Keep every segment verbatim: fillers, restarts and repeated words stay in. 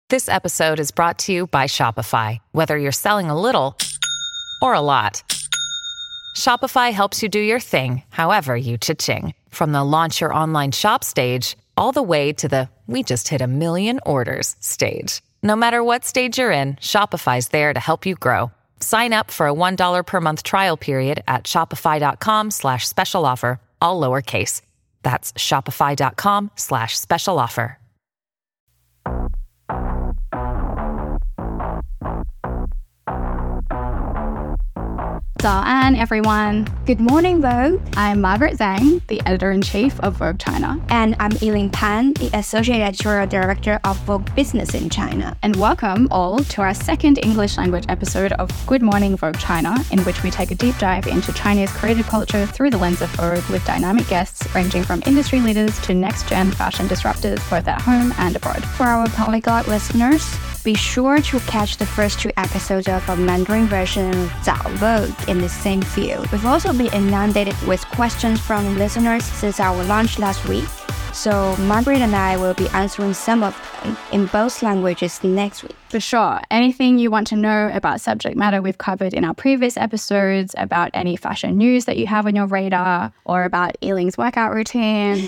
This episode is brought to you by Shopify. Whether you're selling a little or a lot, Shopify helps you do your thing, however you cha-ching. From the launch your online shop stage, all the way to the we just hit a million orders stage. No matter what stage you're in, Shopify's there to help you grow. Sign up for a one dollar per month trial period at shopify.com slash special offer, all lowercase. That's shopify.com slash special offer. 早安, everyone. Good morning, Vogue. I'm Margaret Zhang, the editor-in-chief of Vogue China. And I'm Yiling Pan, the associate editorial director of Vogue Business in China. And welcome all to our second English language episode of Good Morning Vogue China, in which we take a deep dive into Chinese creative culture through the lens of Vogue with dynamic guests ranging from industry leaders to next-gen fashion disruptors, both at home and abroad. For our polyglot listeners, be sure to catch the first two episodes of our Mandarin version of Zao Vogue in the same field. We've also been inundated with questions from listeners since our launch last week, so Margaret and I will be answering some of them in both languages next week. For sure. Anything you want to know about subject matter we've covered in our previous episodes, about any fashion news that you have on your radar, or about Yiling's workout routine,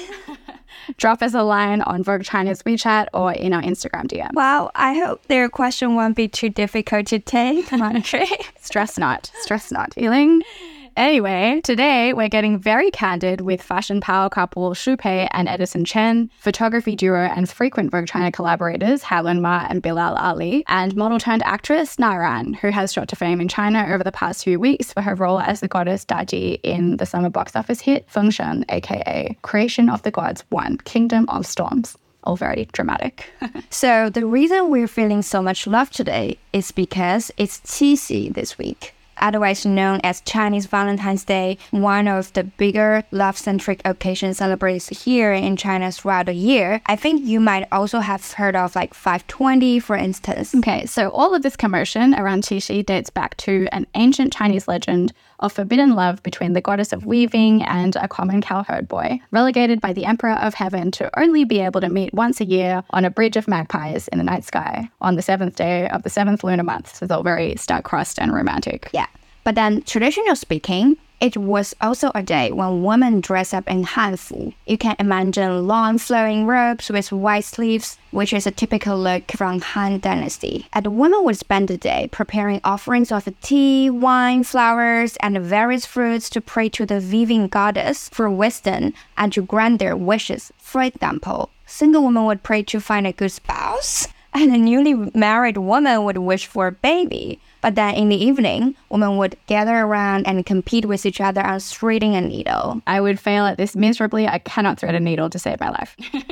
drop us a line on Vogue China's WeChat or in our Instagram D M. Wow, I hope their question won't be too difficult to take, Margaret. Stress not. Stress not. Yiling? Anyway, today we're getting very candid with fashion power couple Xu Pei and Edison Chen, photography duo and frequent Vogue China collaborators Helen Ma and Bilal Ali, and model-turned-actress Na Ran, who has shot to fame in China over the past few weeks for her role as the goddess Daji in the summer box office hit Feng Shen, aka Creation of the Gods one, Kingdom of Storms. All very dramatic. So the reason we're feeling so much love today is because it's Qixi this week, otherwise known as Chinese Valentine's Day, one of the bigger love-centric occasions celebrated here in China throughout the year. I think you might also have heard of like five twenty, for instance. Okay, so all of this commotion around Qixi dates back to an ancient Chinese legend of forbidden love between the goddess of weaving and a common cowherd boy, relegated by the Emperor of Heaven to only be able to meet once a year on a bridge of magpies in the night sky on the seventh day of the seventh lunar month. So it's all very star-crossed and romantic. Yeah. But then, traditionally speaking, it was also a day when women dress up in hanfu. You can imagine long flowing robes with white sleeves, which is a typical look from Han Dynasty. And the women would spend the day preparing offerings of tea, wine, flowers, and various fruits to pray to the weaving goddess for wisdom and to grant their wishes. For example, single women would pray to find a good spouse, and a newly married woman would wish for a baby. But then in the evening, women would gather around and compete with each other on threading a needle. I would fail at this miserably. I cannot thread a needle to save my life.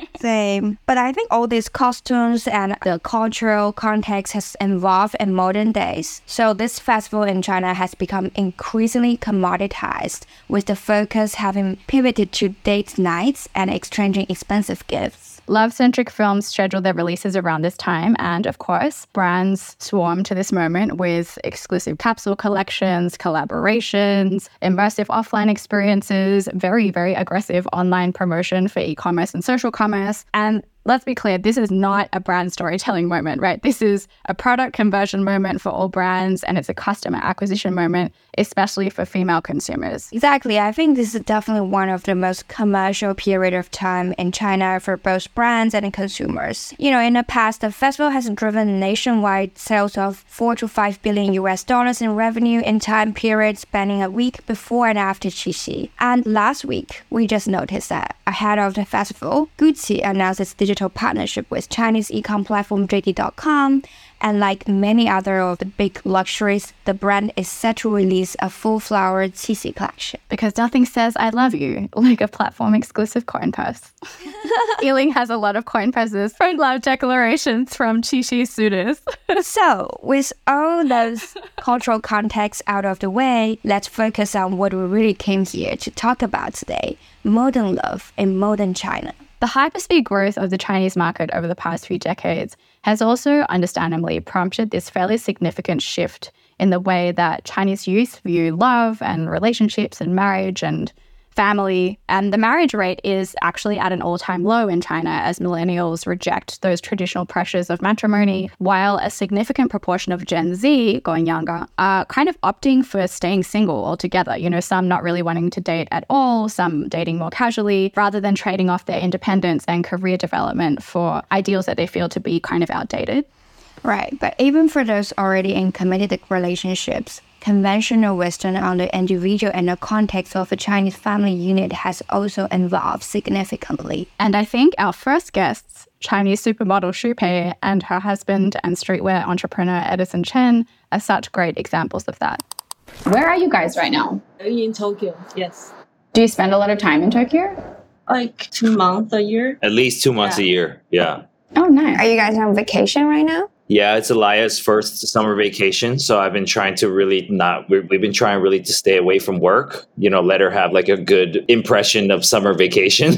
Same. But I think all these costumes and the cultural context has evolved in modern days. So this festival in China has become increasingly commoditized, with the focus having pivoted to date nights and exchanging expensive gifts. Love-centric films schedule their releases around this time, and of course, brands swarm to this moment with exclusive capsule collections, collaborations, immersive offline experiences, very, very aggressive online promotion for e-commerce and social commerce. And let's be clear, this is not a brand storytelling moment, right? This is a product conversion moment for all brands, and it's a customer acquisition moment, especially for female consumers. Exactly. I think this is definitely one of the most commercial period of time in China for both brands and consumers. You know, in the past, the festival has driven nationwide sales of four to five billion U S dollars in revenue in time periods spanning a week before and after Qixi. And last week, we just noticed that ahead of the festival, Gucci announced its digital partnership with Chinese e-com platform J D dot com, and like many other of the big luxuries, the brand is set to release a full-flowered Qixi collection. Because nothing says I love you like a platform-exclusive coin purse. Yiling has a lot of coin purses for love declarations from Qixi suitors. So, with all those cultural contexts out of the way, let's focus on what we really came here to talk about today: modern love in modern China. The hyperspeed growth of the Chinese market over the past few decades has also understandably prompted this fairly significant shift in the way that Chinese youth view love and relationships and marriage and family. And the marriage rate is actually at an all-time low in China as millennials reject those traditional pressures of matrimony, while a significant proportion of Gen Z, going younger, are kind of opting for staying single altogether. You know, some not really wanting to date at all, some dating more casually, rather than trading off their independence and career development for ideals that they feel to be kind of outdated. Right, but even for those already in committed relationships, conventional wisdom on the individual and the context of a Chinese family unit has also evolved significantly. And I think our first guests, Chinese supermodel Xu Pei and her husband and streetwear entrepreneur Edison Chen, are such great examples of that. Where are you guys right now? In Tokyo, yes. Do you spend a lot of time in Tokyo? Like two months a year. At least two months Yeah. a year. Yeah. Oh, nice. Are you guys on vacation right now? Yeah, it's Elia's first summer vacation. So I've been trying to really not, we- we've been trying really to stay away from work, you know, let her have like a good impression of summer vacation.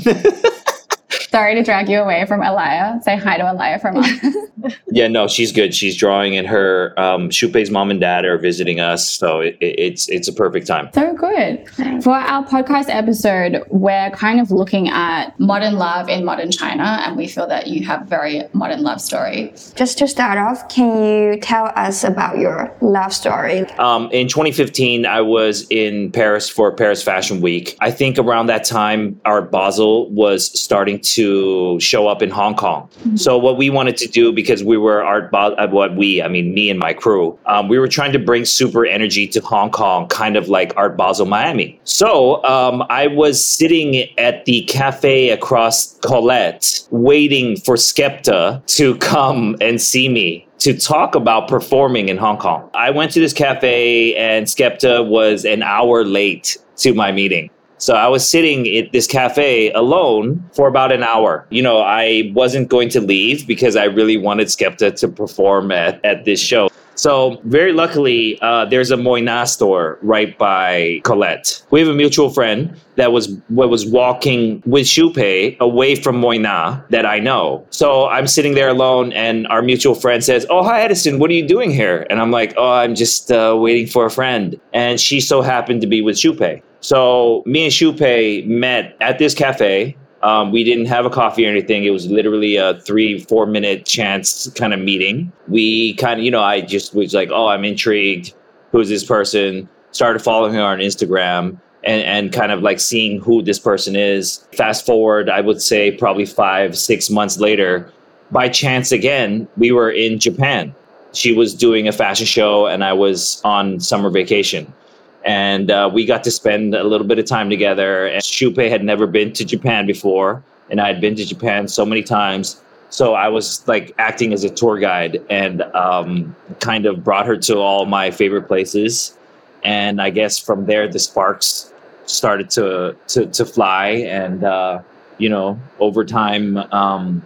Sorry to drag you away from Elia. Say hi to Elia from us. Yeah, no, she's good. She's drawing, and her um, Xu Pei's mom and dad are visiting us. So it, it, it's it's a perfect time. So good. For our podcast episode, we're kind of looking at modern love in modern China, and we feel that you have a very modern love story. Just to start off, can you tell us about your love story? Um, in twenty fifteen, I was in Paris for Paris Fashion Week. I think around that time, Art Basel was starting to show up in Hong Kong. Mm-hmm. So what we wanted to do, because we were Art Basel, what we, I mean, me and my crew, um, we were trying to bring super energy to Hong Kong, kind of like Art Basel Miami. So um, I was sitting at the cafe across Colette, waiting for Skepta to come and see me to talk about performing in Hong Kong. I went to this cafe and Skepta was an hour late to my meeting. So I was sitting at this cafe alone for about an hour. You know, I wasn't going to leave because I really wanted Skepta to perform at, at this show. So very luckily, uh, there's a Moina store right by Colette. We have a mutual friend that was what was walking with Xu Pei away from Moina that I know. So I'm sitting there alone, and our mutual friend says, "Oh, hi, Edison. What are you doing here?" And I'm like, "Oh, I'm just uh, waiting for a friend." And she so happened to be with Xu Pei. So me and Xu Pei met at this cafe. Um, we didn't have a coffee or anything. It was literally a three, four minute chance kind of meeting. We kind of, you know, I just was like, oh, I'm intrigued. Who's this person? Started following her on Instagram and, and kind of like seeing who this person is. Fast forward, I would say probably five, six months later, by chance again, we were in Japan. She was doing a fashion show and I was on summer vacation. And uh, we got to spend a little bit of time together. And Xu Pei had never been to Japan before, and I had been to Japan so many times. So I was like acting as a tour guide and um, kind of brought her to all my favorite places. And I guess from there, the sparks started to to, to fly. And, uh, you know, over time, um,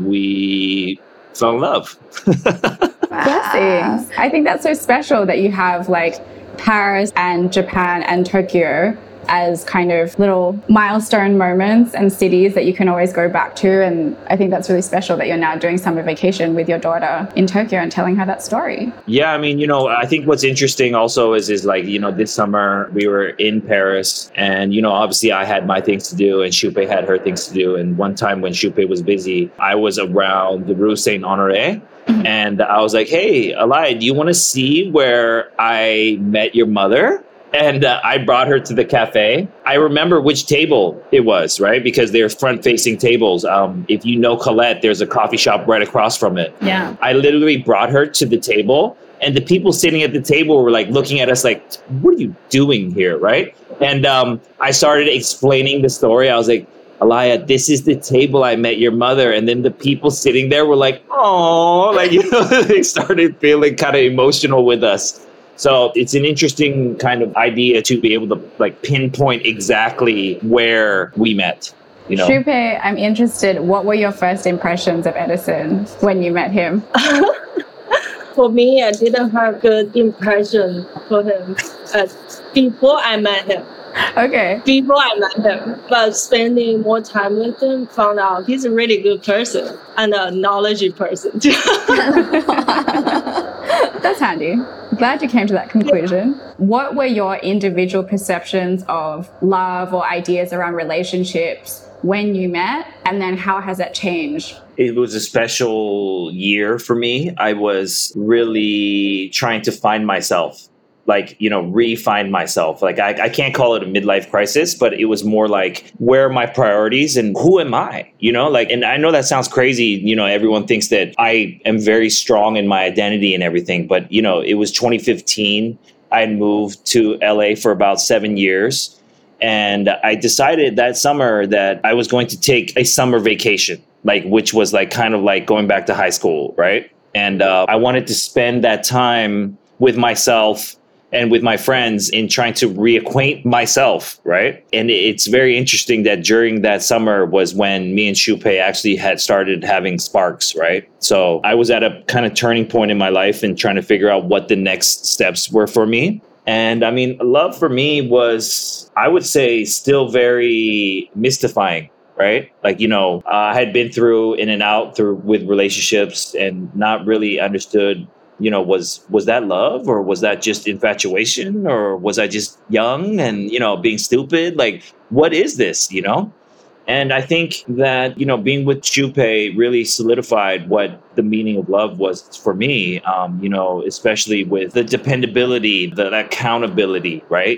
we fell in love. Blessings. I think that's so special that you have like Paris and Japan and Tokyo as kind of little milestone moments and cities that you can always go back to. And I think that's really special that you're now doing summer vacation with your daughter in Tokyo and telling her that story. Yeah, I mean, you know, I think what's interesting also is, is like, you know, this summer we were in Paris and, you know, obviously I had my things to do and Xu Pei had her things to do. And one time when Xu Pei was busy, I was around the Rue Saint-Honoré. Mm-hmm. And I was like, hey, Elia, do you want to see where I met your mother? And uh, I brought her to the cafe. I remember which table it was, right? Because they're front-facing tables. Um, if you know Colette, there's a coffee shop right across from it. Yeah. I literally brought her to the table, and the people sitting at the table were like looking at us like, what are you doing here, right? And um, I started explaining the story. I was like, Elia, this is the table I met your mother. And then the people sitting there were like, oh, like, you know, they started feeling kind of emotional with us. So it's an interesting kind of idea to be able to like pinpoint exactly where we met. You know, Xu Pei, I'm interested. What were your first impressions of Edison when you met him? For me, I didn't have good impression for him uh, before I met him. Okay. Before I met him, but spending more time with him, found out he's a really good person and a knowledgeable person too. That's handy. Glad you came to that conclusion. Yeah. What were your individual perceptions of love or ideas around relationships when you met? And then how has that changed? It was a special year for me. I was really trying to find myself. Like, you know, re-find myself. Like, I, I can't call it a midlife crisis, but it was more like, where are my priorities and who am I? You know, like, and I know that sounds crazy. You know, everyone thinks that I am very strong in my identity and everything. But, you know, it was twenty fifteen. I had moved to L A for about seven years. And I decided that summer that I was going to take a summer vacation, like, which was like kind of like going back to high school. Right. And uh, I wanted to spend that time with myself and with my friends in trying to reacquaint myself, right? And it's very interesting that during that summer was when me and Shupei actually had started having sparks, right? So I was at a kind of turning point in my life and trying to figure out what the next steps were for me. And I mean, love for me was, I would say, still very mystifying, right? Like, you know, uh, I had been through in and out through with relationships and not really understood, you know, was was that love, or was that just infatuation, or was I just young and, you know, being stupid? Like, what is this, you know? And I think that, you know, being with Shupei really solidified what the meaning of love was for me, um, you know, especially with the dependability, the accountability, right?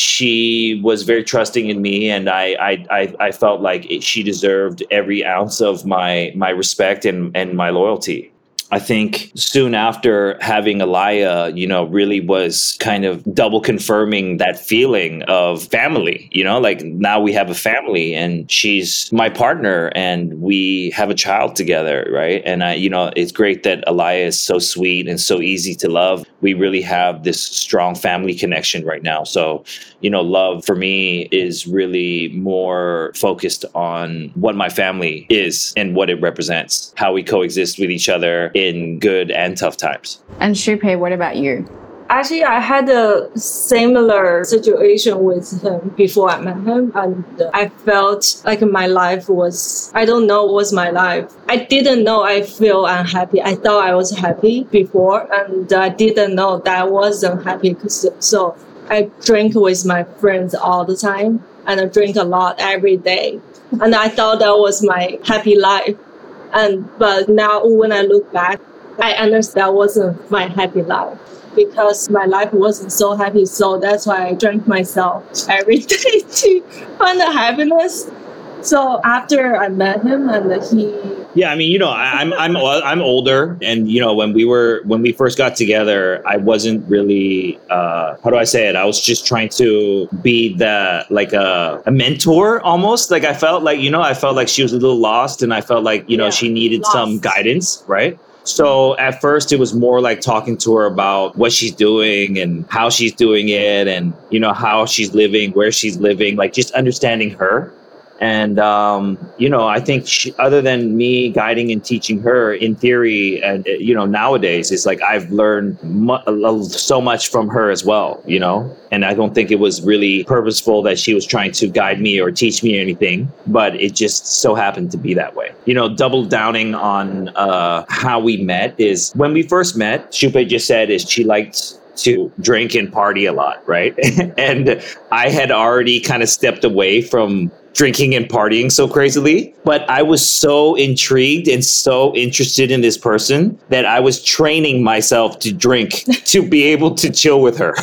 She was very trusting in me, and I I I, I felt like it, she deserved every ounce of my my respect and, and my loyalty. I think soon after having Alaya, you know, really was kind of double confirming that feeling of family, you know, like now we have a family and she's my partner and we have a child together, right? And I, you know, it's great that Alaya is so sweet and so easy to love. We really have this strong family connection right now. So, you know, love for me is really more focused on what my family is and what it represents, how we coexist with each other in good and tough times. And Shupei, what about you? Actually, I had a similar situation with him before I met him, and I felt like my life was, I don't know what was my life. I didn't know I feel unhappy. I thought I was happy before, and I didn't know that I wasn't happy. So I drink with my friends all the time, and I drink a lot every day. And I thought that was my happy life. And but now when I look back, I understand that wasn't my happy life, because my life wasn't so happy. So that's why I drank myself every day to find the happiness. So after I met him and he... Yeah, I mean, you know, I, I'm I'm I'm older, and you know, when we were when we first got together, I wasn't really uh, how do I say it? I was just trying to be the like a, a mentor almost. Like I felt like, you know, I felt like she was a little lost, and I felt like, you know, yeah, she needed lost. some guidance, right? So at first it was more like talking to her about what she's doing and how she's doing it, and you know, how she's living, where she's living, like just understanding her. And, um, you know, I think she, other than me guiding and teaching her in theory, and, you know, nowadays it's like I've learned mu- so much from her as well, you know, and I don't think it was really purposeful that she was trying to guide me or teach me anything, but it just so happened to be that way. You know, double downing on uh, how we met is when we first met, Shupei just said is she liked to drink and party a lot, right? And I had already kind of stepped away from drinking and partying so crazily, but I was so intrigued and so interested in this person that I was training myself to drink to be able to chill with her.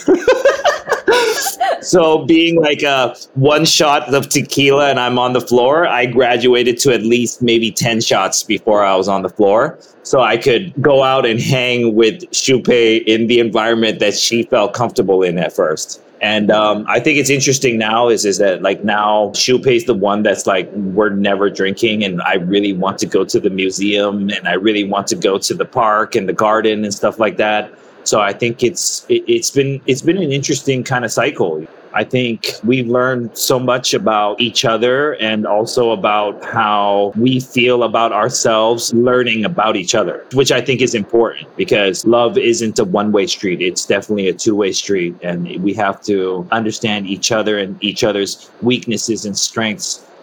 So being like a one shot of tequila and I'm on the floor, I graduated to at least maybe ten shots before I was on the floor. So I could go out and hang with Shupei in the environment that she felt comfortable in at first. And um, I think it's interesting now is, is that like now Shupei's the one that's like, we're never drinking. And I really want to go to the museum and I really want to go to the park and the garden and stuff like that. So I think it's it, it's been it's been an interesting kind of cycle. I think we've learned so much about each other and also about how we feel about ourselves, learning about each other, which I think is important because love isn't a one-way street. It's definitely a two-way street. And we have to understand each other and each other's weaknesses and strengths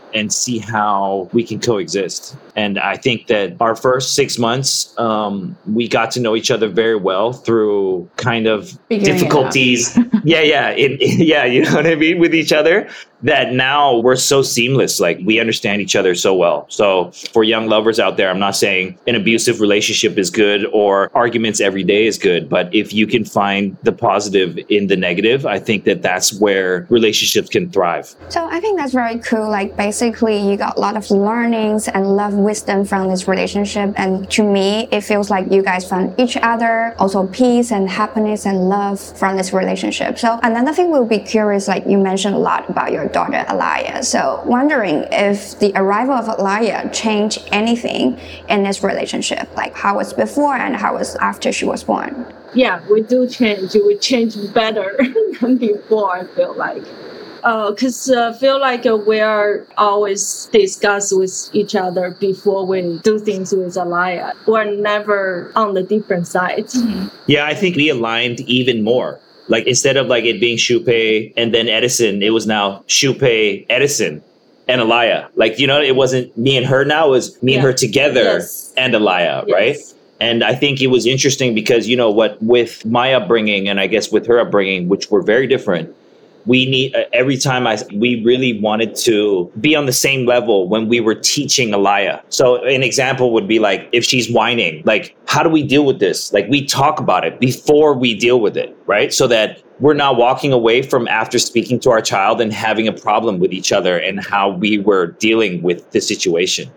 and see how we can coexist. And I think that our first six months, um, we got to know each other very well through kind of Figuring difficulties. yeah, yeah, in, in, yeah, you know what I mean, with each other. That now we're so seamless, like we understand each other so well. So for young lovers out there, I'm not saying an abusive relationship is good or arguments every day is good, but if you can find the positive in the negative, I think that that's where relationships can thrive. So I think that's very cool. Like basically you got a lot of learnings and love wisdom from this relationship. And to me, it feels like you guys found each other, also peace and happiness and love from this relationship. So another thing we'll be curious, like you mentioned a lot about your daughter Alaya. So wondering if the arrival of Alaya changed anything in this relationship, like how it's before and how it's after she was born. Yeah, we do change. We change better than before, I feel like. Because uh, I uh, feel like uh, we are always discuss with each other before we do things with Alaya. We're never on the different sides. Mm-hmm. Yeah, I think we aligned even more. Like instead of like it being Shupei and then Edison, it was now Shupei, Edison, and Alaya. Like, you know, it wasn't me and her now, it was me yeah. and her together yes. and Alaya, yes. right? And I think it was interesting because, you know what, with my upbringing and I guess with her upbringing, which were very different, we need uh, every time I we really wanted to be on the same level when we were teaching Alaya. So an example would be like if she's whining, like how do we deal with this? Like we talk about it before we deal with it, right? So that we're not walking away from after speaking to our child and having a problem with each other and how we were dealing with the situation.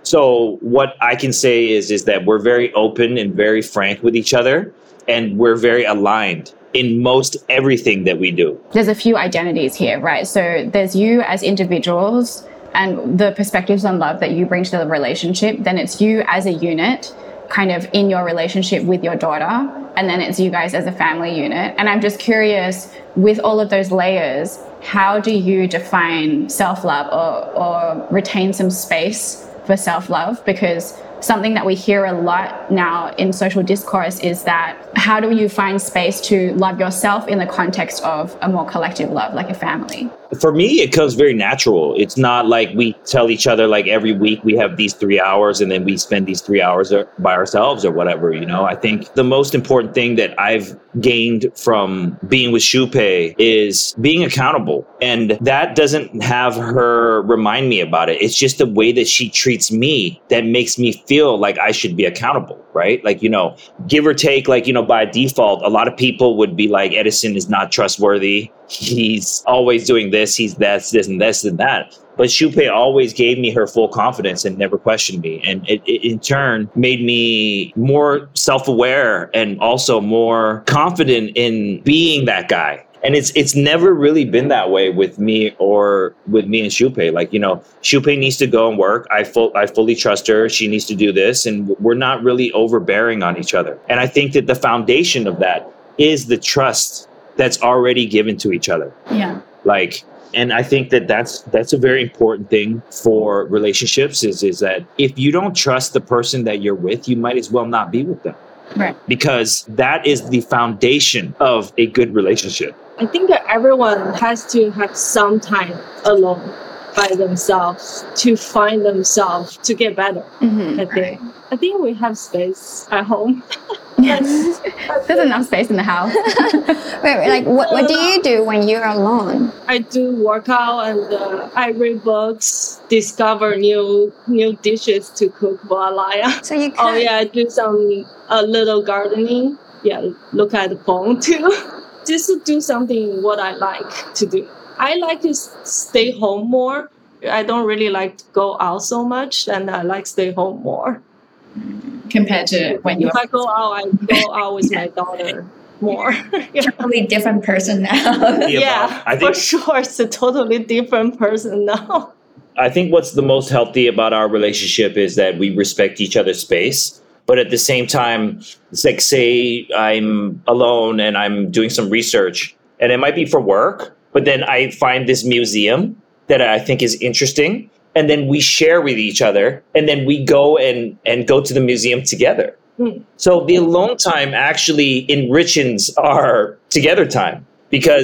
So what I can say is is that we're very open and very frank with each other, and we're very aligned in most everything that we do. There's a few identities here, right? So there's you as individuals and the perspectives on love that you bring to the relationship. Then it's you as a unit, kind of in your relationship with your daughter. And then it's you guys as a family unit. And I'm just curious, with all of those layers, how do you define self-love or, or retain some space for self-love? Because something that we hear a lot now in social discourse is that how do you find space to love yourself in the context of a more collective love, like a family? For me, it comes very natural. It's not like we tell each other like every week we have these three hours and then we spend these three hours by ourselves or whatever, you know. I think the most important thing that I've gained from being with Shupei is being accountable. And that doesn't have her remind me about it. It's just the way that she treats me that makes me feel like I should be accountable, right? Like, you know, give or take, like, you know, by default, a lot of people would be like, Edison is not trustworthy. He's always doing this. He's that's this and this and that. But Shupei always gave me her full confidence and never questioned me. And it, it in turn made me more self-aware and also more confident in being that guy. And it's it's never really been that way with me or with me and Shupei. Like, you know, Shupei needs to go and work. I full I fully trust her. She needs to do this. And we're not really overbearing on each other. And I think that the foundation of that is the trust that's already given to each other. Yeah. Like, and I think that that's that's a very important thing for relationships is is that if you don't trust the person that you're with, you might as well not be with them. Right. Because that is the foundation of a good relationship. I think that everyone has to have some time alone by themselves to find themselves to get better. Mm-hmm. I think. I think we have space at home. Yes. There's enough space in the house. wait, wait, like what, what do you do when you're alone? I do workout and uh, I read books, discover new new dishes to cook for Alaya. So you Oh yeah, I do some a little gardening. Yeah, look at the phone too. Just to do something what I like to do. I like to stay home more. I don't really like to go out so much, and I like to stay home more. Compared to when you If I go out, I go out with my daughter more. Yeah. Totally different person now. Yeah, Yeah, I think- for sure, it's a totally different person now. I think what's the most healthy about our relationship is that we respect each other's space. But at the same time, it's like, say I'm alone and I'm doing some research, and it might be for work, but then I find this museum that I think is interesting. And then we share with each other, and then we go and, and go to the museum together. Hmm. So the alone time actually enriches our together time, because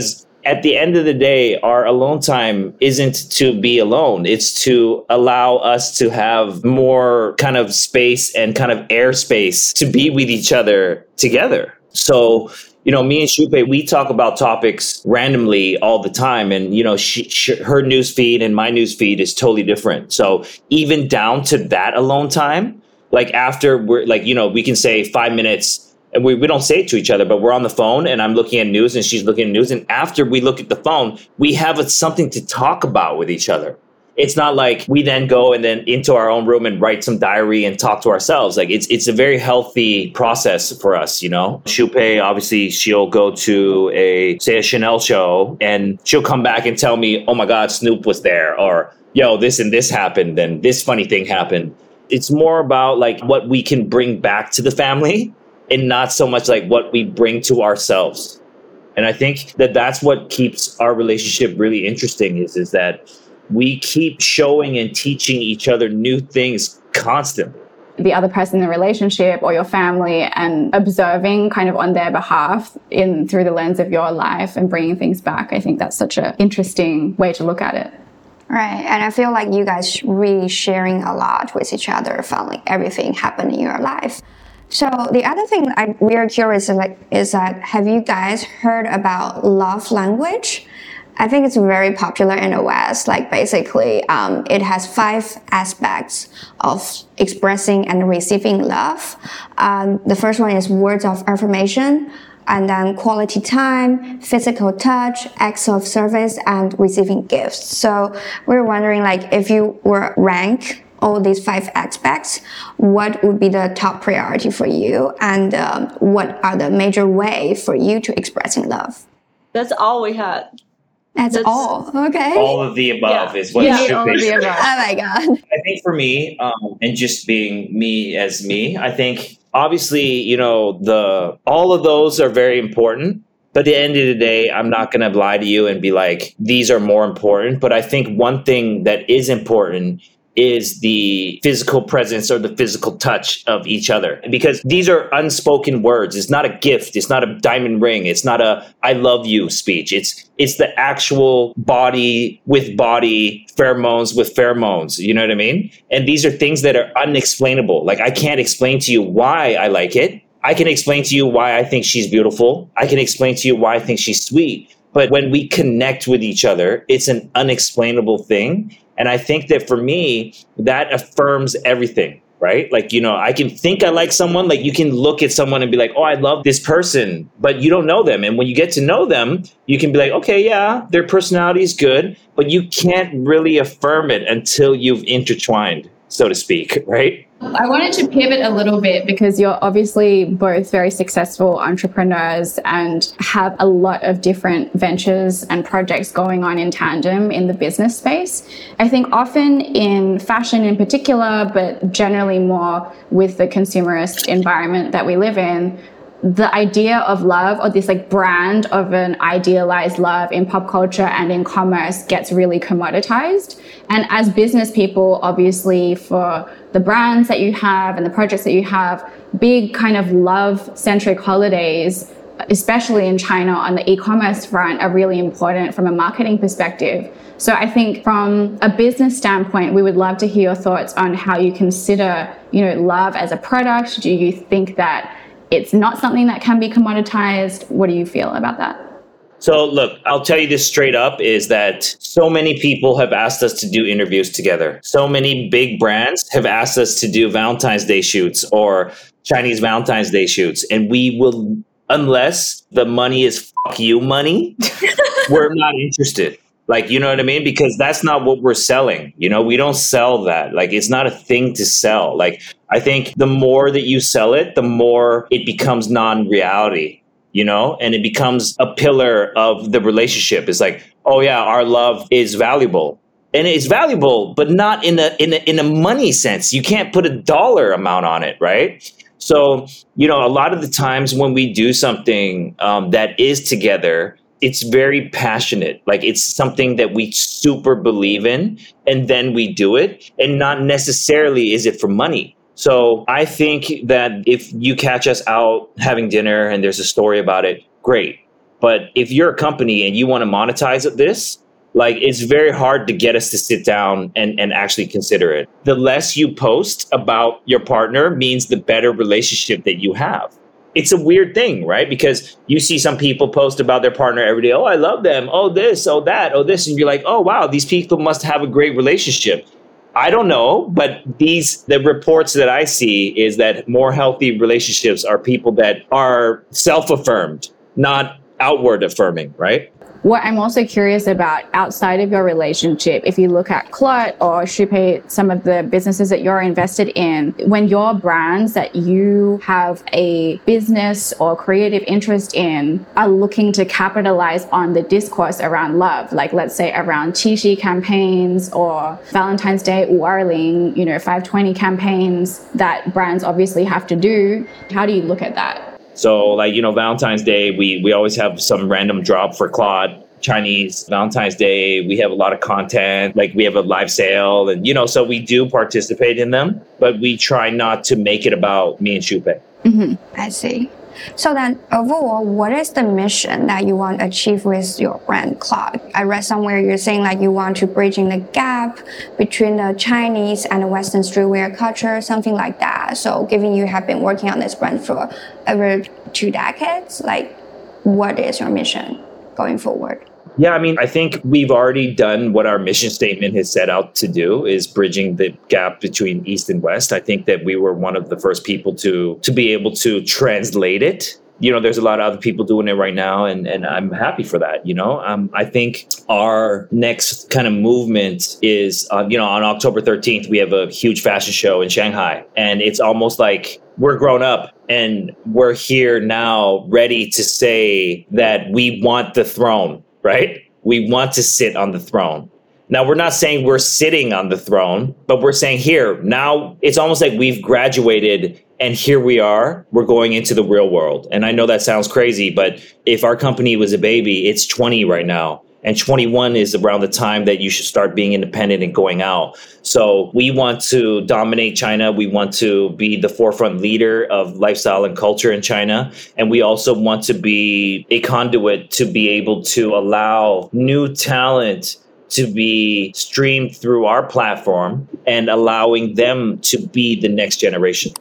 at the end of the day, our alone time isn't to be alone. It's to allow us to have more kind of space and kind of airspace to be with each other together. So, you know, me and Shupe, we talk about topics randomly all the time. And, you know, she, she, her news feed and my news feed is totally different. So even down to that alone time, like after we're like, you know, we can say five minutes and we, we don't say it to each other, but we're on the phone and I'm looking at news and she's looking at news. And after we look at the phone, we have a, something to talk about with each other. It's not like we then go and then into our own room and write some diary and talk to ourselves. Like it's it's a very healthy process for us, you know. Shupe, obviously, she'll go to a, say, a Chanel show and she'll come back and tell me, oh my God, Snoop was there, or yo, this and this happened and this funny thing happened. It's more about like what we can bring back to the family and not so much like what we bring to ourselves. And I think that that's what keeps our relationship really interesting is, is that we keep showing and teaching each other new things constantly. The other person in the relationship or your family and observing kind of on their behalf in through the lens of your life and bringing things back. I think that's such an interesting way to look at it. Right. And I feel like you guys really sharing a lot with each other from like everything happening in your life. So the other thing I'm really curious like, is that have you guys heard about love language? I think it's very popular in the West. Like basically, um, it has five aspects of expressing and receiving love. Um, the first one is words of affirmation, and then quality time, physical touch, acts of service, and receiving gifts. So we're wondering, like, if you were rank all these five aspects, what would be the top priority for you, and um, what are the major way for you to expressing love? That's all we had. That's, That's all. Okay. All of the above yeah. is what yeah. it should all be. of the above. Oh my God. I think for me, um, and just being me as me, I think obviously, you know, the all of those are very important. But at the end of the day, I'm not going to lie to you and be like, these are more important. But I think one thing that is important is the physical presence or the physical touch of each other. Because these are unspoken words. It's not a gift. It's not a diamond ring. It's not a I love you speech. It's it's the actual body with body, pheromones with pheromones. You know what I mean? And these are things that are unexplainable. Like I can't explain to you why I like it. I can explain to you why I think she's beautiful. I can explain to you why I think she's sweet. But when we connect with each other, it's an unexplainable thing. And I think that for me, that affirms everything, right? Like, you know, I can think I like someone, like you can look at someone and be like, oh, I love this person, but you don't know them. And when you get to know them, you can be like, okay, yeah, their personality is good, but you can't really affirm it until you've intertwined, so to speak, right? I wanted to pivot a little bit because you're obviously both very successful entrepreneurs and have a lot of different ventures and projects going on in tandem in the business space. I think often in fashion in particular, but generally more with the consumerist environment that we live in, the idea of love or this like brand of an idealized love in pop culture and in commerce gets really commoditized. And as business people, obviously for the brands that you have and the projects that you have, big kind of love-centric holidays, especially in China on the e-commerce front, are really important from a marketing perspective. So I think from a business standpoint, we would love to hear your thoughts on how you consider, you know, love as a product. Do you think that it's not something that can be commoditized? What do you feel about that? So look, I'll tell you this straight up is that so many people have asked us to do interviews together. So many big brands have asked us to do Valentine's Day shoots or Chinese Valentine's Day shoots. And we will, unless the money is fuck you money, we're not interested. Like, you know what I mean? Because that's not what we're selling. You know, we don't sell that. Like, it's not a thing to sell. Like, I think the more that you sell it, the more it becomes non-reality, you know, and it becomes a pillar of the relationship. It's like, oh yeah, our love is valuable. And it's valuable, but not in a, in a, in a money sense. You can't put a dollar amount on it, right? So, you know, a lot of the times when we do something um, that is together, it's very passionate. Like it's something that we super believe in, and then we do it, and not necessarily is it for money. So I think that if you catch us out having dinner and there's a story about it, great. But if you're a company and you want to monetize this, like it's very hard to get us to sit down and, and actually consider it. The less you post about your partner means the better relationship that you have. It's a weird thing, right? Because you see some people post about their partner every day. Oh, I love them. Oh, this, oh, that, oh, this. And you're like, oh, wow, these people must have a great relationship. I don't know, but these the reports that I see is that more healthy relationships are people that are self-affirmed, not outward affirming, right? What I'm also curious about outside of your relationship, if you look at Clot or Shupei, some of the businesses that you're invested in, when your brands that you have a business or creative interest in are looking to capitalize on the discourse around love, like let's say around Qixi campaigns or Valentine's Day,五二零, you know, five twenty campaigns that brands obviously have to do, how do you look at that? So like, you know, Valentine's Day, we, we always have some random drop for Claude. Chinese Valentine's Day, we have a lot of content, like we have a live sale and, you know, so we do participate in them, but we try not to make it about me and Shupei. Mm-hmm. I see. So then overall, what is the mission that you want to achieve with your brand Clot? I read somewhere you're saying like you want to bridging the gap between the Chinese and the Western streetwear culture, something like that. So given you have been working on this brand for over two decades, like what is your mission going forward? Yeah, I mean, I think we've already done what our mission statement has set out to do, is bridging the gap between East and West. I think that we were one of the first people to to be able to translate it. You know, there's a lot of other people doing it right now, and, and I'm happy for that, you know. Um, I think our next kind of movement is, uh, you know, on October thirteenth, we have a huge fashion show in Shanghai, and it's almost like we're grown up and we're here now ready to say that we want the throne. Right? We want to sit on the throne. Now, we're not saying we're sitting on the throne, but we're saying here, now it's almost like we've graduated and here we are, we're going into the real world. And I know that sounds crazy, but if our company was a baby, it's twenty right now. And twenty-one is around the time that you should start being independent and going out. So we want to dominate China. We want to be the forefront leader of lifestyle and culture in China. And we also want to be a conduit to be able to allow new talent to be streamed through our platform and allowing them to be the next generation.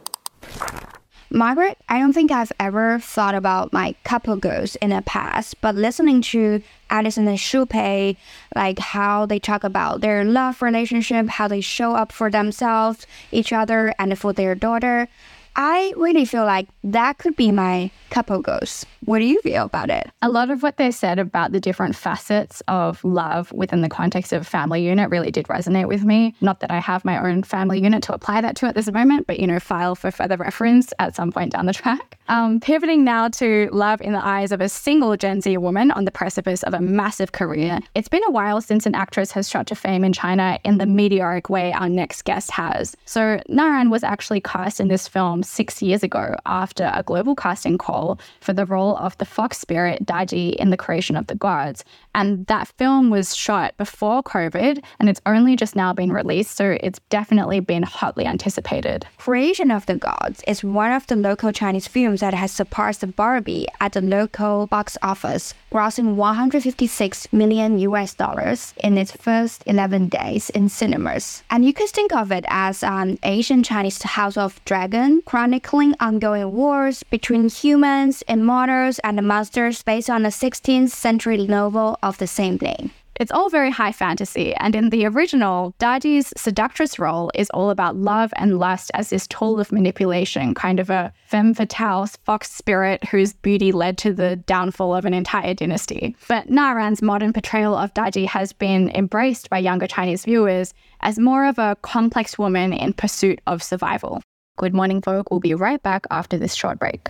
Margaret, I don't think I've ever thought about my couple goals in the past, but listening to Edison and Shupei, like how they talk about their love relationship, how they show up for themselves, each other, and for their daughter, I really feel like that could be my couple goals. What do you feel about it? A lot of what they said about the different facets of love within the context of family unit really did resonate with me. Not that I have my own family unit to apply that to at this moment, but, you know, file for further reference at some point down the track. Um, pivoting now to love in the eyes of a single Gen Z woman on the precipice of a massive career. It's been a while since an actress has shot to fame in China in the meteoric way our next guest has. So Naran was actually cast in this film six years ago after a global casting call for the role of the fox spirit Daji in The Creation of the Gods. And that film was shot before COVID and it's only just now been released, so it's definitely been hotly anticipated. Creation of the Gods is one of the local Chinese films that has surpassed Barbie at the local box office, grossing one hundred fifty-six million U S dollars in its first eleven days in cinemas. And you could think of it as an Asian Chinese House of Dragon, chronicling ongoing wars between humans, immortals, and monsters based on a sixteenth century novel of the same name. It's all very high fantasy, and in the original, Daji's seductress role is all about love and lust as this tool of manipulation, kind of a femme fatale fox spirit whose beauty led to the downfall of an entire dynasty. But Naran's modern portrayal of Daji has been embraced by younger Chinese viewers as more of a complex woman in pursuit of survival. Good morning, folk. We'll be right back after this short break.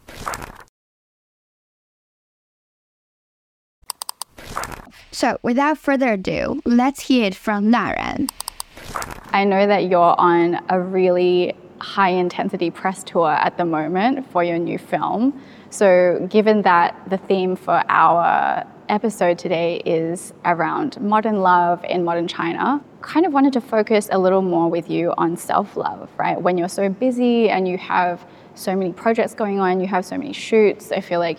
So, without further ado, let's hear it from Naran. I know that you're on a really high-intensity press tour at the moment for your new film. So, given that the theme for our episode today is around modern love in modern China, kind of wanted to focus a little more with you on self-love, right? When you're so busy and you have so many projects going on, you have so many shoots, I feel like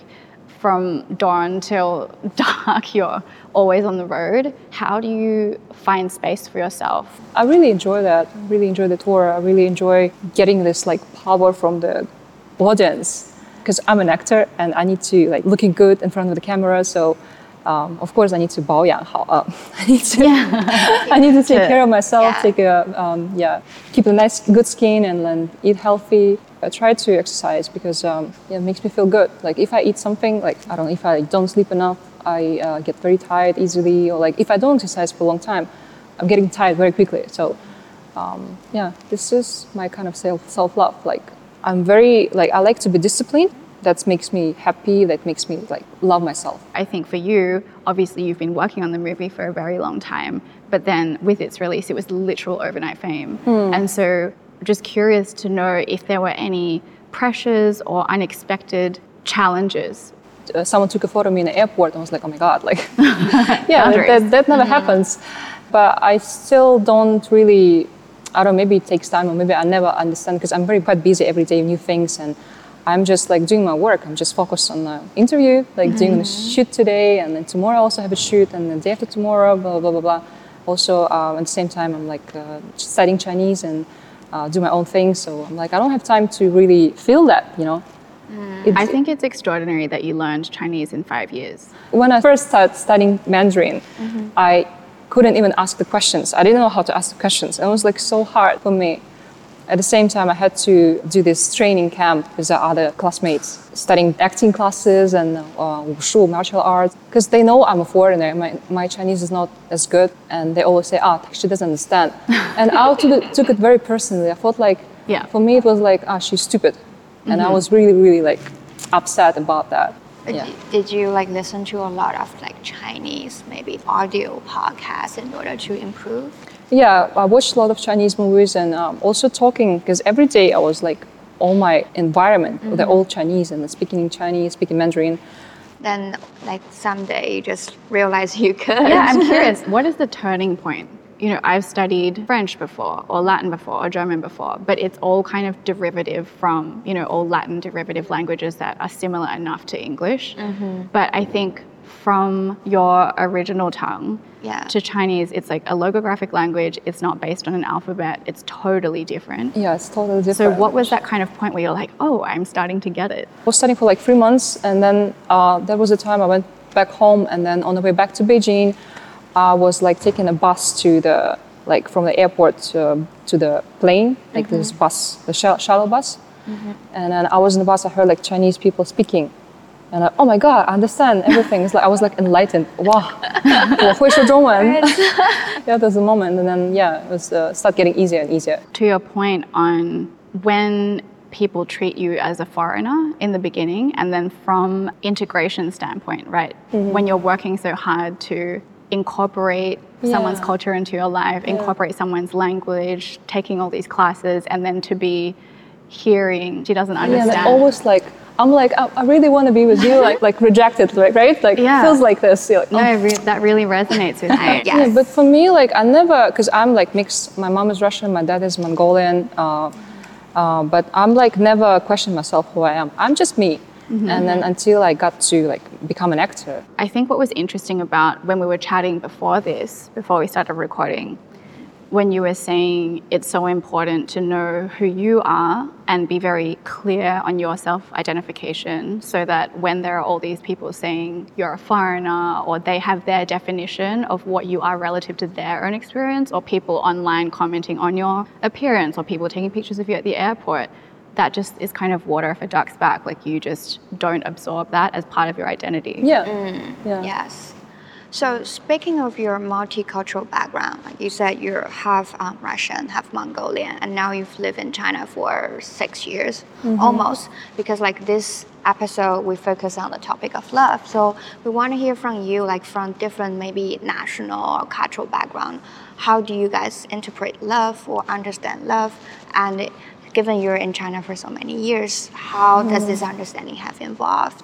from dawn till dark, you're always on the road. How do you find space for yourself? I really enjoy that. I really enjoy the tour. I really enjoy getting this like power from the audience, because I'm an actor and I need to like looking good in front of the camera. So um, of course I need to 保养好. Uh, I need to yeah. I need to take care of myself. Yeah. Take a um, yeah, keep a nice good skin and then eat healthy. I try to exercise because um, yeah, it makes me feel good. Like if I eat something, like I don't know, if I don't sleep enough, I uh, get very tired easily. Or like if I don't exercise for a long time, I'm getting tired very quickly. So um, yeah, this is my kind of self self love. Like I'm very like I like to be disciplined. That makes me happy. That makes me like love myself. I think for you, obviously you've been working on the movie for a very long time, but then with its release, it was literal overnight fame, hmm. and so. Just curious to know if there were any pressures or unexpected challenges. Uh, someone took a photo of me in the airport and I was like, oh my God, like, yeah, that, that, that never mm-hmm. happens. But I still don't really, I don't know, maybe it takes time or maybe I never understand because I'm very quite busy every day, new things. And I'm just like doing my work. I'm just focused on the interview, like mm-hmm. doing the shoot today and then tomorrow I also have a shoot and the day after tomorrow, blah, blah, blah, blah. Also, um, at the same time, I'm like uh, studying Chinese and Uh, do my own thing, so I'm like I don't have time to really feel that, you know. Mm. I think it's extraordinary that you learned Chinese in five years. When I first started studying Mandarin, mm-hmm. I couldn't even ask the questions. I didn't know how to ask the questions. It was like so hard for me. At the same time, I had to do this training camp with the other classmates, studying acting classes and uh, wushu, martial arts, because they know I'm a foreigner. My, my Chinese is not as good, and they always say, ah, she doesn't understand. And I took it, took it very personally. I felt like, yeah. for me, it was like, ah, she's stupid. And mm-hmm. I was really, really like upset about that. Yeah. Did you like listen to a lot of like Chinese, maybe audio podcasts in order to improve? Yeah, I watched a lot of Chinese movies and um, also talking, because every day I was like, all my environment, mm-hmm. they're all Chinese and speaking Chinese, speaking Mandarin. Then like someday you just realize you could. Yeah, I'm curious, what is the turning point? You know, I've studied French before, or Latin before, or German before, but it's all kind of derivative from, you know, all Latin derivative languages that are similar enough to English. Mm-hmm. But I think from your original tongue yeah. to Chinese, it's like a logographic language. It's not based on an alphabet. It's totally different. Yeah, it's totally different. So what was that kind of point where you're like, oh, I'm starting to get it? I was studying for like three months, and then uh, there was a time I went back home, and then on the way back to Beijing, I was like taking a bus to the, like from the airport to, to the plane, like mm-hmm. this bus, the sh- shuttle bus. Mm-hmm. And then I was in the bus, I heard like Chinese people speaking. And I, oh my God, I understand everything. It's like I was like enlightened. Wow, 我会说中文. Yeah, there's a moment, and then yeah, it was uh, start getting easier and easier. To your point on when people treat you as a foreigner in the beginning, and then from integration standpoint, right? Mm-hmm. When you're working so hard to incorporate yeah. someone's culture into your life, yeah. incorporate someone's language, taking all these classes, and then to be hearing she doesn't understand. Yeah, almost like. I'm like, I, I really want to be with you, like, like rejected, right? Right? Like, yeah. feels like this. You're like, oh. No, re- that really resonates with me. Yes. Yeah, but for me, like, I never, because I'm like mixed. My mom is Russian, my dad is Mongolian, uh, uh, but I'm like never question myself who I am. I'm just me. Mm-hmm. And then until I got to like become an actor. I think what was interesting about when we were chatting before this, before we started recording, when you were saying it's so important to know who you are and be very clear on your self-identification so that when there are all these people saying you're a foreigner or they have their definition of what you are relative to their own experience, or people online commenting on your appearance, or people taking pictures of you at the airport, that just is kind of water off a duck's back. Like you just don't absorb that as part of your identity. Yeah. Mm, yeah. Yes. So speaking of your multicultural background, like you said, you're half um, Russian, half Mongolian, and now you've lived in China for six years, mm-hmm. almost, because like this episode, we focus on the topic of love. So we want to hear from you, like from different maybe national or cultural background. How do you guys interpret love or understand love? And given you're in China for so many years, how mm. does this understanding have evolved?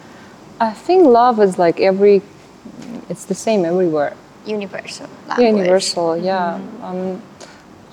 I think love is like every it's the same everywhere. Universal language. Yeah, universal, yeah. Mm-hmm. Um,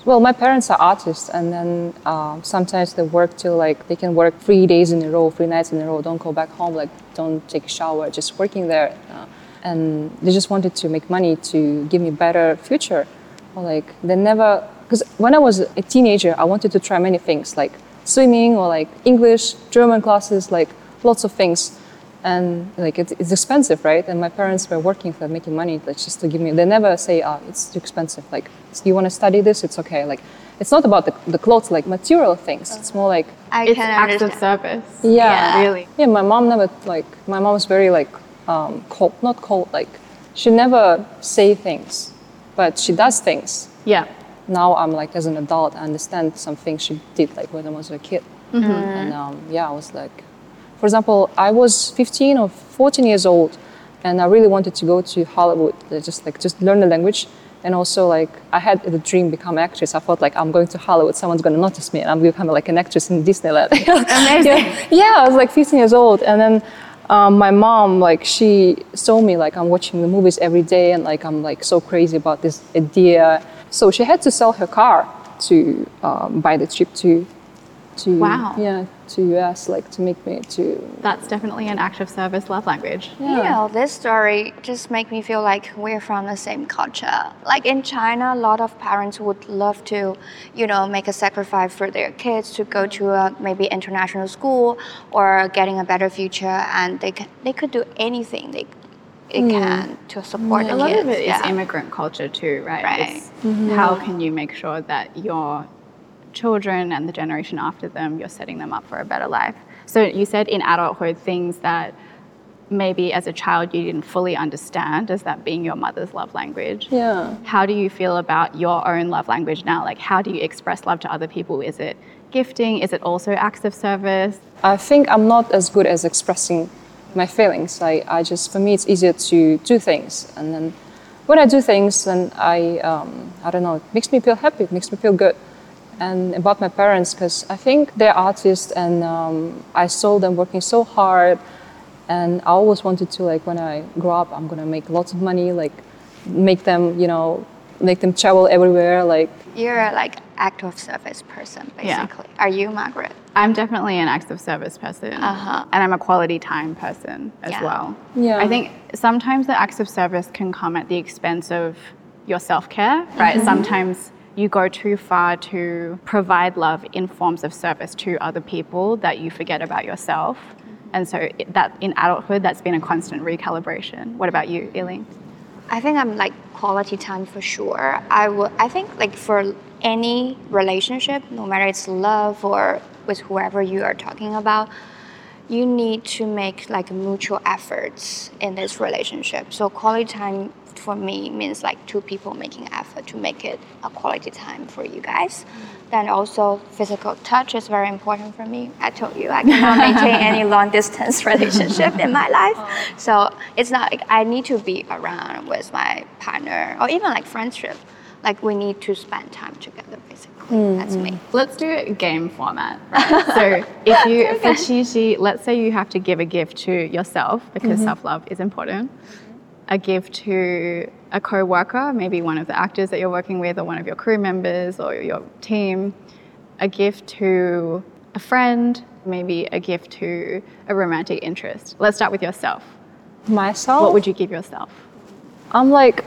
Well, my parents are artists, and then um, sometimes they work till like they can work three days in a row, three nights in a row. Don't go back home, like don't take a shower, just working there. Uh, and they just wanted to make money to give me better future. Or like they never, because when I was a teenager, I wanted to try many things like swimming or like English, German classes, like lots of things. And like it's, it's expensive, right? And my parents were working for making money, like just to give me. They never say, "Ah, oh, it's too expensive." Like, you want to study this? It's okay. Like, it's not about the, the clothes, like material things. It's more like I It's can acts of understand. service. yeah, Yeah. Really. yeah. My mom never like. My mom was very like um, cold, not cold. Like, she never say things, but she does things. Yeah. Now I'm like as an adult, I understand some things she did like when I was a kid. And um, yeah, I was like. For example, I was fifteen or fourteen years old, and I really wanted to go to Hollywood, uh, just like just learn the language, and also like I had the dream become actress. I thought like I'm going to Hollywood, someone's going to notice me, and I'm becoming like an actress in Disneyland. Amazing. yeah, yeah, I was like fifteen years old, and then um, my mom like she saw me like I'm watching the movies every day, and like I'm like so crazy about this idea. So she had to sell her car to um, buy the trip to. To, Wow. Yeah, to U S, like to make me to. That's definitely an act of service love language. You know, this story just make me feel like we're from the same culture. Like in China, a lot of parents would love to, you know, make a sacrifice for their kids to go to a maybe international school or getting a better future, and they can, they could do anything they, they can to support the A lot kids. of it is yeah. immigrant culture too, right? Right. It's how can you make sure that your children and the generation after them, you're setting them up for a better life. So you said in adulthood, things that maybe as a child you didn't fully understand as that being your mother's love language. Yeah. How do you feel about your own love language now? Like, how do you express love to other people? Is it gifting? Is it also acts of service? I think I'm not as good as expressing my feelings. I, I just, for me, it's easier to do things. And then when I do things, then I, um, I don't know, it makes me feel happy, it makes me feel good. And about my parents, because I think they're artists, and um, I saw them working so hard, and I always wanted to, like, when I grow up, I'm gonna make lots of money, like, make them, you know, make them travel everywhere, like. You're a, like act of service person, Yeah. basically. Are you, Margaret? I'm definitely an acts of service person. Uh-huh. And I'm a quality time person as Yeah. well. Yeah. I think sometimes the acts of service can come at the expense of your self-care, right? Mm-hmm. Sometimes you go too far to provide love in forms of service to other people that you forget about yourself. And so it- that in adulthood, that's been a constant recalibration. What about you, Eileen? I think I'm like quality time for sure. I would. I think like for any relationship, no matter it's love or with whoever you are talking about, you need to make like mutual efforts in this relationship. So quality time for me means like two people making effort to make it a quality time for you guys. Then also physical touch is very important for me. I told you I cannot maintain any long distance relationship in my life. So it's not like I need to be around with my partner or even like friendship. Like we need to spend time together basically. That's me. Let's do a game format, right? So if you, for Qixi, let's say you have to give a gift to yourself because self-love is important. A gift to a co-worker, maybe one of the actors that you're working with or one of your crew members or your team. A gift to a friend, maybe a gift to a romantic interest. Let's start with yourself. Myself? What would you give yourself? I'm like,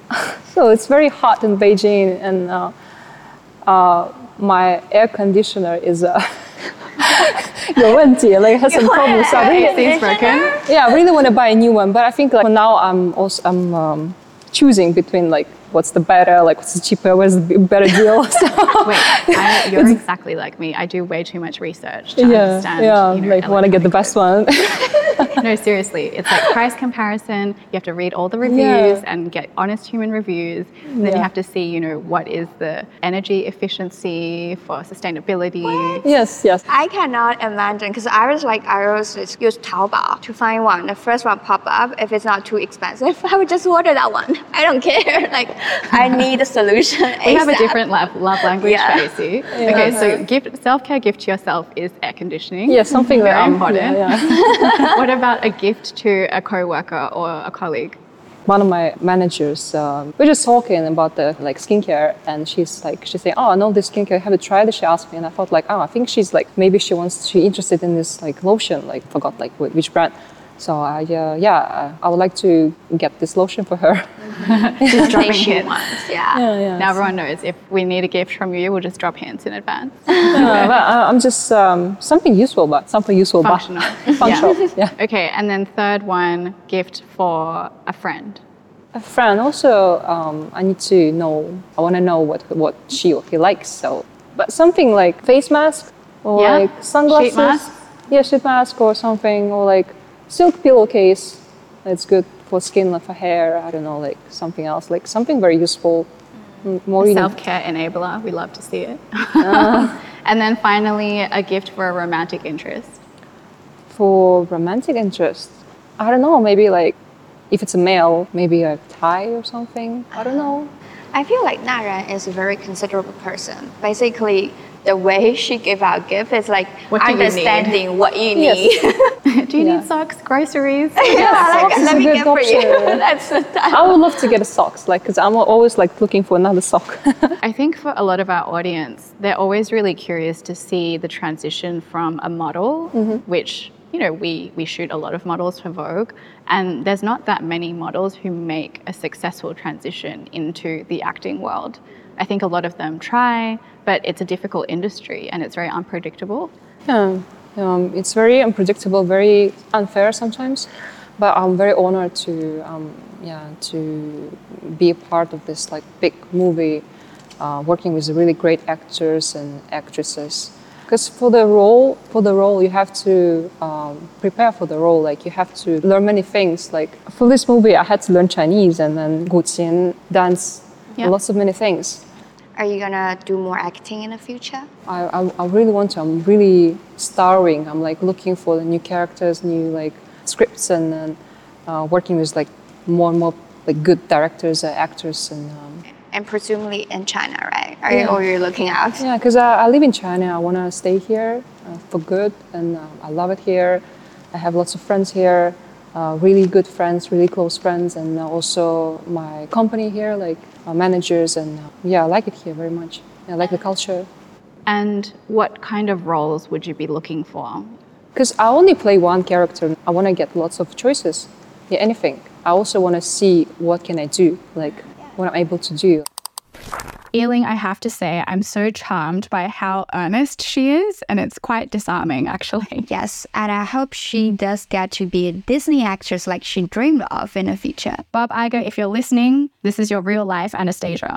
so it's very hot in Beijing, and uh, uh, my air conditioner is uh, 有问题, like has some problems. So I really, It's broken. yeah, I really want to buy a new one, but I think like for now I'm also I'm um, choosing between like what's the better, like what's the cheaper, what's the better deal. So, Wait, I, you're exactly like me. I do way too much research to yeah, understand. yeah, you know, like want to get the best one. No, seriously, it's like price comparison. You have to read all the reviews Yeah. and get honest human reviews. And then Yeah. you have to see, you know, what is the energy efficiency for sustainability. Yes, yes. I cannot imagine because I was like I always just use Taobao to find one. The first one pop up. If it's not too expensive, I would just order that one. I don't care. Like I need a solution. We have a ASAP. different love, love language, Yeah. Tracy. Okay, so gift, self-care gift to yourself is air conditioning. Yeah, something Very that I'm- important. yeah, yeah. What about a gift to a co-worker or a colleague? one of my managers, um, we're just talking about the like skincare, and she's like, she's saying, oh, I know this skincare, have you tried it? She asked me, and I thought like, oh, I think she's like, maybe she wants, she's interested in this like lotion, like forgot like which brand. So I, uh, yeah, I would like to get this lotion for her. Just dropping hints. Yeah. Yeah, yeah. Now everyone knows if we need a gift from you, we'll just drop hints in advance. Yeah, but I'm just um, something useful, but something useful, Functional. but functional. Yeah. yeah. Okay, and then third one, gift for a friend. A friend also, um, I need to know. I want to know what what she or he likes. So, but something like face mask or Yeah. like sunglasses. Sheet mask? Yeah, sheet mask or something, or like silk pillowcase. It's good for skin, for hair. I don't know, like something else, like something very useful. Mm. More you know. Self-care enabler. We love to see it. Uh. And then finally, a gift for a romantic interest. For romantic interest, I don't know. Maybe like if it's a male, maybe a tie or something. I don't know. I feel like Naran is a very considerable person. Basically, the way she give out gift is like What do you understanding need? what you Yes. need. Do you Yeah. need socks, groceries? yeah, like, socks is let a me good get for you. option. That's the time. I would love to get a socks, like, cause I'm always like looking for another sock. I think for a lot of our audience, they're always really curious to see the transition from a model, which, you know, we, we shoot a lot of models for Vogue, and there's not that many models who make a successful transition into the acting world. I think a lot of them try, but it's a difficult industry and it's very unpredictable. Yeah, um, it's very unpredictable, very unfair sometimes, but I'm very honored to, um, yeah, to be a part of this like big movie, uh, working with really great actors and actresses. Because for the role, for the role, you have to um, prepare for the role. Like you have to learn many things. Like for this movie, I had to learn Chinese and then guqian, dance, Yeah. lots of many things. Are you gonna do more acting in the future? I, I, I really want to. I'm really starring. I'm like looking for the new characters, new like scripts, and then uh, working with like more and more like good directors, uh, actors, and um, And presumably in China, right? Are Yeah. you, or you're looking out? yeah. Because I, I live in China. I want to stay here uh, for good, and uh, I love it here. I have lots of friends here, uh, really good friends, really close friends, and uh, also my company here, like uh, managers, and uh, yeah, I like it here very much. I like the culture. And what kind of roles would you be looking for? Because I only play one character. I want to get lots of choices. Yeah, anything. I also want to see what can I do, like what I'm able to do. Yiling, I have to say, I'm so charmed by how earnest she is, and it's quite disarming, actually. Yes, and I hope she does get to be a Disney actress like she dreamed of in the future. Bob Iger, if you're listening, this is your real life Anastasia.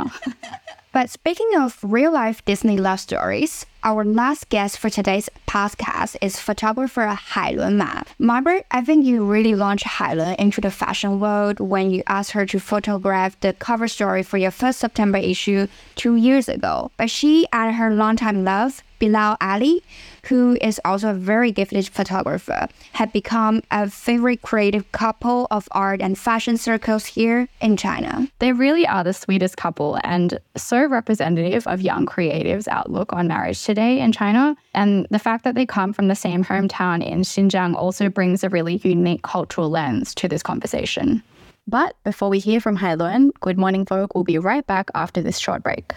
But speaking of real-life Disney love stories, our last guest for today's podcast is photographer Hailun Ma. Margaret, I think you really launched Hailun into the fashion world when you asked her to photograph the cover story for your first September issue two years ago. But she and her longtime love, Bilal Ali, who is also a very gifted photographer, have become a favorite creative couple of art and fashion circles here in China. They really are the sweetest couple and so representative of young creatives' outlook on marriage today in China. And the fact that they come from the same hometown in Xinjiang also brings a really unique cultural lens to this conversation. But before we hear from Hailun, Good Morning Vogue will be right back after this short break.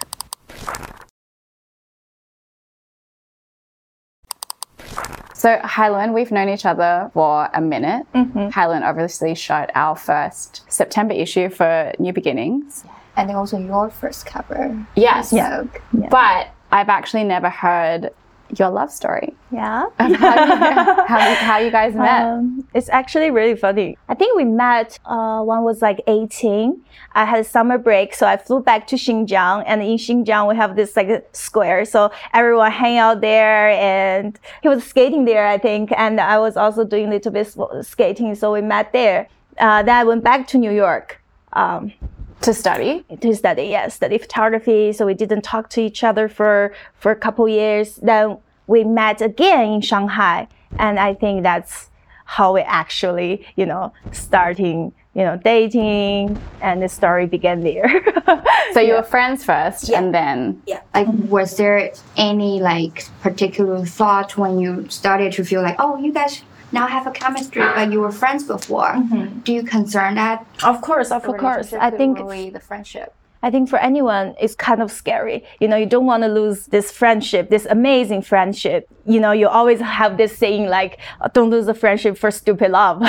So, Hailun, we've known each other for a minute. Mm-hmm. Hailun obviously shot our first September issue for New Beginnings. And also your first cover. Yes. Yeah. Yeah. But I've actually never heard your love story. Yeah. How you, how, how you guys met. Um, it's actually really funny. I think we met uh, when I was like eighteen. I had a summer break, so I flew back to Xinjiang. And in Xinjiang, we have this like square. So everyone hang out there, and he was skating there, I think. And I was also doing a little bit skating, so we met there. Uh, then I went back to New York. Um, To study? To study, yes, study photography. So we didn't talk to each other for, for a couple years. Then we met again in Shanghai. And I think that's how we actually, you know, starting, you know, dating, and the story began there. So you were friends first, Yeah. and then... Yeah. Like, was there any like particular thought when you started to feel like, oh, you guys now have a chemistry, but you were friends before. Mm-hmm. Do you concern that? Of course, of course. I think ruin the friendship. I think for anyone, it's kind of scary. You know, you don't want to lose this friendship, this amazing friendship. You know, you always have this saying like, don't lose a friendship for stupid love.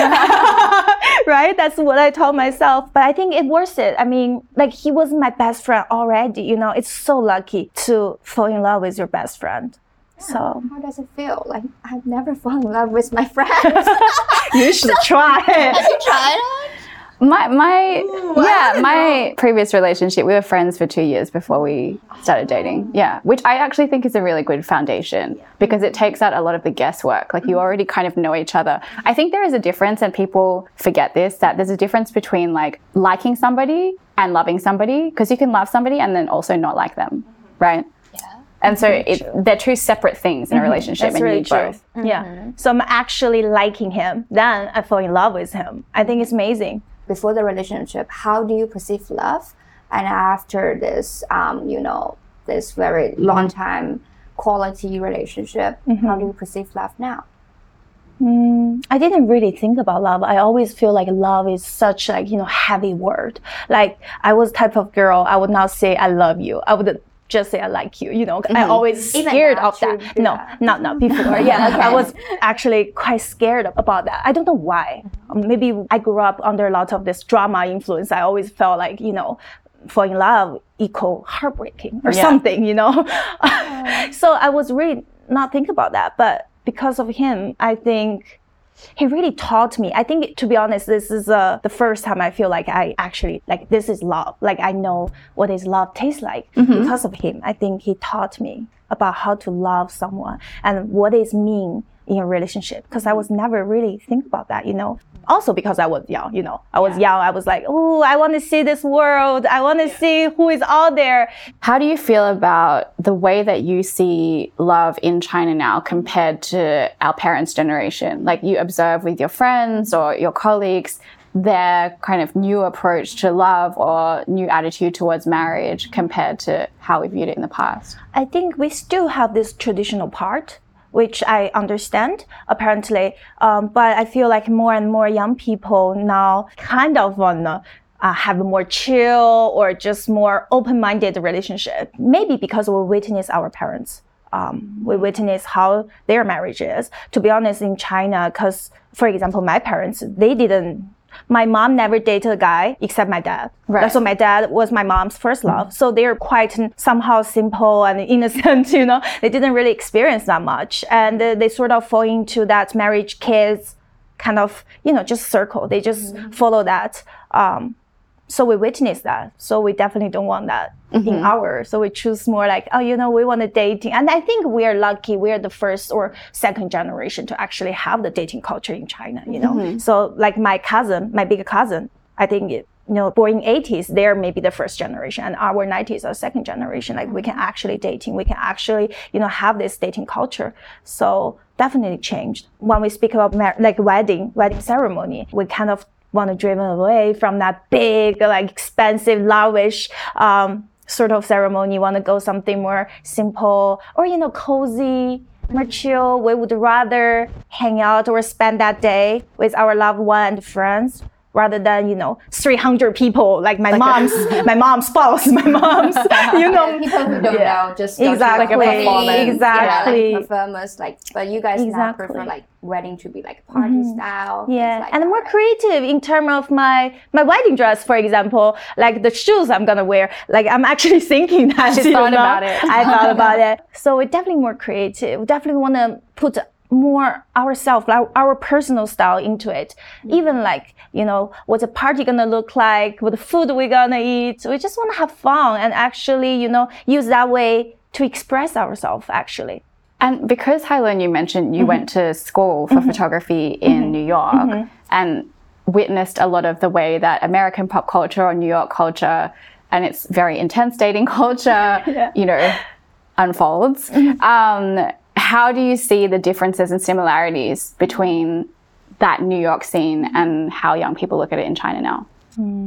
Right? That's what I told myself. But I think it worth it. I mean, like he was my best friend already. You know, it's so lucky to fall in love with your best friend. Yeah. So how does it feel? Like I've never fallen in love with my friends. You should try it. Have you tried it? My, my, yeah, my previous relationship, we were friends for two years before we started dating. Yeah, which I actually think is a really good foundation because it takes out a lot of the guesswork. Like you already kind of know each other. I think there is a difference, and people forget this, that there's a difference between like liking somebody and loving somebody, because you can love somebody and then also not like them, right? And so it, they're two separate things in a relationship. That's and really you true. both. Mm-hmm. Yeah. So I'm actually liking him. Then I fall in love with him. I think it's amazing. Before the relationship, how do you perceive love? And after this, um, you know, this very long time quality relationship, mm-hmm. how do you perceive love now? Mm, I didn't really think about love. I always feel like love is such like, you know, heavy word. Like I was the type of girl, I would not say I love you. I would just say I like you, you know. Mm-hmm. I always scared of that. No, that. not not before. Yeah, okay. I was actually quite scared about that. I don't know why. Maybe I grew up under a lot of this drama influence. I always felt like, you know, falling in love equal heartbreaking or yeah. something, you know. So I was really not thinking about that. But because of him, I think he really taught me. I think, to be honest, this is uh, the first time I feel like I actually, like, this is love. Like, I know what is love tastes like mm-hmm. because of him. I think he taught me about how to love someone and what it mean in a relationship. Because I was never really think about that, you know. Also because I was young, you know. I was yeah. young. I was like, oh, I want to see this world. I want to yeah. see who is out there. How do you feel about the way that you see love in China now compared to our parents' generation? Like you observe with your friends or your colleagues, their kind of new approach to love or new attitude towards marriage compared to how we viewed it in the past? I think we still have this traditional part, which I understand, apparently. Um, but I feel like more and more young people now kind of wanna uh, have a more chill or just more open-minded relationship. Maybe because we witness our parents. Um, we witness how their marriage is. To be honest, in China, because, for example, my parents, they didn't My mom never dated a guy except my dad. Right. So my dad was my mom's first love. So they're quite somehow simple and innocent, you know. They didn't really experience that much. And uh, they sort of fall into that marriage, kids, kind of, you know, just circle. They just mm-hmm. follow that. Um, so we witness that. So we definitely don't want that mm-hmm. in ours. So we choose more like, oh, you know, we want to dating. And I think we are lucky. We are the first or second generation to actually have the dating culture in China, you know. Mm-hmm. So like my cousin, my big cousin, I think, it, you know, born in eighties, they're maybe the first generation. And our nineties are second generation. Like we can actually dating. We can actually, you know, have this dating culture. So definitely changed. When we speak about mar- like wedding, wedding ceremony, we kind of want to driven away from that big, like expensive, lavish um, sort of ceremony. Want to go something more simple or, you know, cozy, more chill. We would rather hang out or spend that day with our loved one and friends rather than, you know, three hundred people, like my like mom's, my mom's spouse, my mom's, you know. People who don't yeah. know, just exactly. like a performance. Exactly. Yeah, like performance, like, but you guys exactly. now prefer like wedding to be like party mm-hmm. style. Yeah, like and that, more right? creative in terms of my, my wedding dress, for example, like the shoes I'm gonna wear. Like I'm actually thinking that. She thought know? about it. I thought about it. So we're definitely more creative. We definitely want to put more ourselves, our, our personal style into it. Mm-hmm. Even like, you know, what's a party gonna look like, what the food we're gonna eat. We just want to have fun and actually, you know, use that way to express ourselves actually. And because, Hailun, you mentioned you mm-hmm. went to school for mm-hmm. photography in mm-hmm. New York mm-hmm. and witnessed a lot of the way that American pop culture or New York culture and its very intense dating culture, yeah. you know, unfolds. Mm-hmm. Um, how do you see the differences and similarities between that New York scene and how young people look at it in China now? Mm.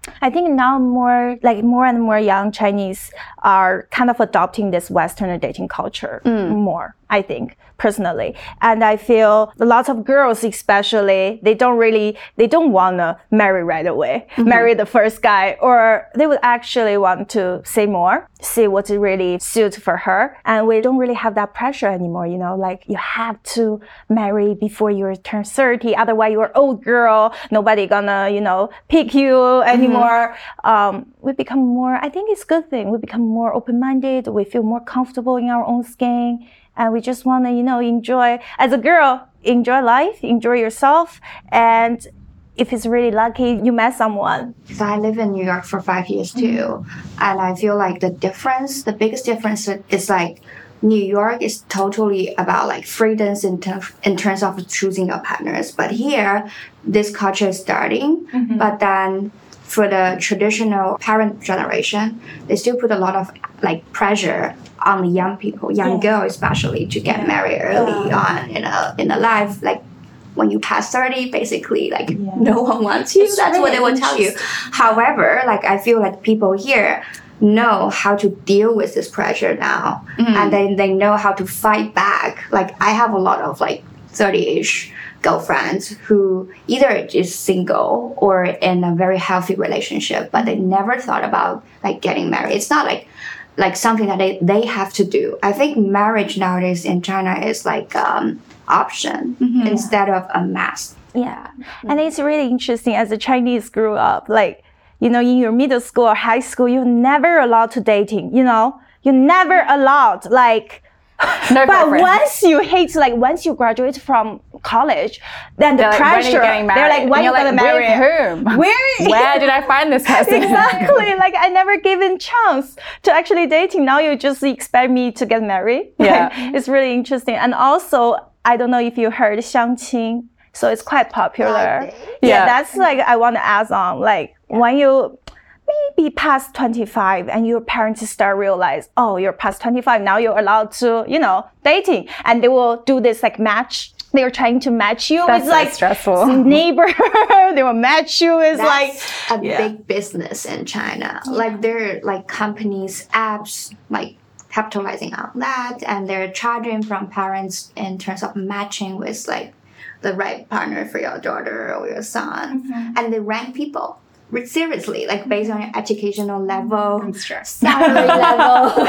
I think now more like more and more young Chinese are kind of adopting this Western dating culture mm. more, I think, personally. And I feel lots of girls especially, they don't really, they don't want to marry right away, mm-hmm. marry the first guy, or they would actually want to say more, see what really suits for her. And we don't really have that pressure anymore, you know, like you have to marry before you turn thirty, otherwise you're an old girl, nobody gonna, you know, pick you anymore. Mm-hmm. Um, we become more, I think it's a good thing, we become more open-minded, we feel more comfortable in our own skin. And we just want to, you know, enjoy, as a girl, enjoy life, enjoy yourself. And if it's really lucky, you met someone. So I live in New York for five years too. Mm-hmm. And I feel like the difference, the biggest difference is like New York is totally about like freedoms in, ter- in terms of choosing your partners. But here, this culture is starting. Mm-hmm. But then for the traditional parent generation, they still put a lot of like pressure on the young people, young yeah. girls especially, to get yeah. married early yeah. on in a in a life. Like when you pass thirty, basically, like yeah. no one wants you. It's That's really what they will tell you. However, like I feel like people here know how to deal with this pressure now, mm-hmm. and then they know how to fight back. Like I have a lot of like thirty-ish girlfriends who either is single or in a very healthy relationship, but they never thought about like getting married. It's not like like something that they, they have to do. I think marriage nowadays in China is like um option mm-hmm. instead of a must. Yeah. Mm-hmm. And it's really interesting as a Chinese grew up, like, you know, in your middle school or high school, you're never allowed to dating, you know? You're never allowed, like, no but once you hate, like once you graduate from college, then the they're pressure, like, they're like, when are you like, gonna marry? With whom? Where? Where did I find this person? Exactly. Like I never given chance to actually dating. Now you just expect me to get married. Yeah. Like, it's really interesting. And also, I don't know if you heard 相亲. So it's quite popular. Okay. Yeah. yeah. That's like, I want to add on, like yeah. when you, maybe past twenty-five and your parents start realize, oh, you're past twenty-five, now you're allowed to, you know, dating. And they will do this like match. They're trying to match you That's with so like stressful. neighbor. They will match you with That's like a yeah. big business in China. Yeah. Like there are like companies, apps, like capitalizing on that, and they're charging from parents in terms of matching with like the right partner for your daughter or your son. Mm-hmm. And they rank people. Seriously, like based on your educational level, salary level,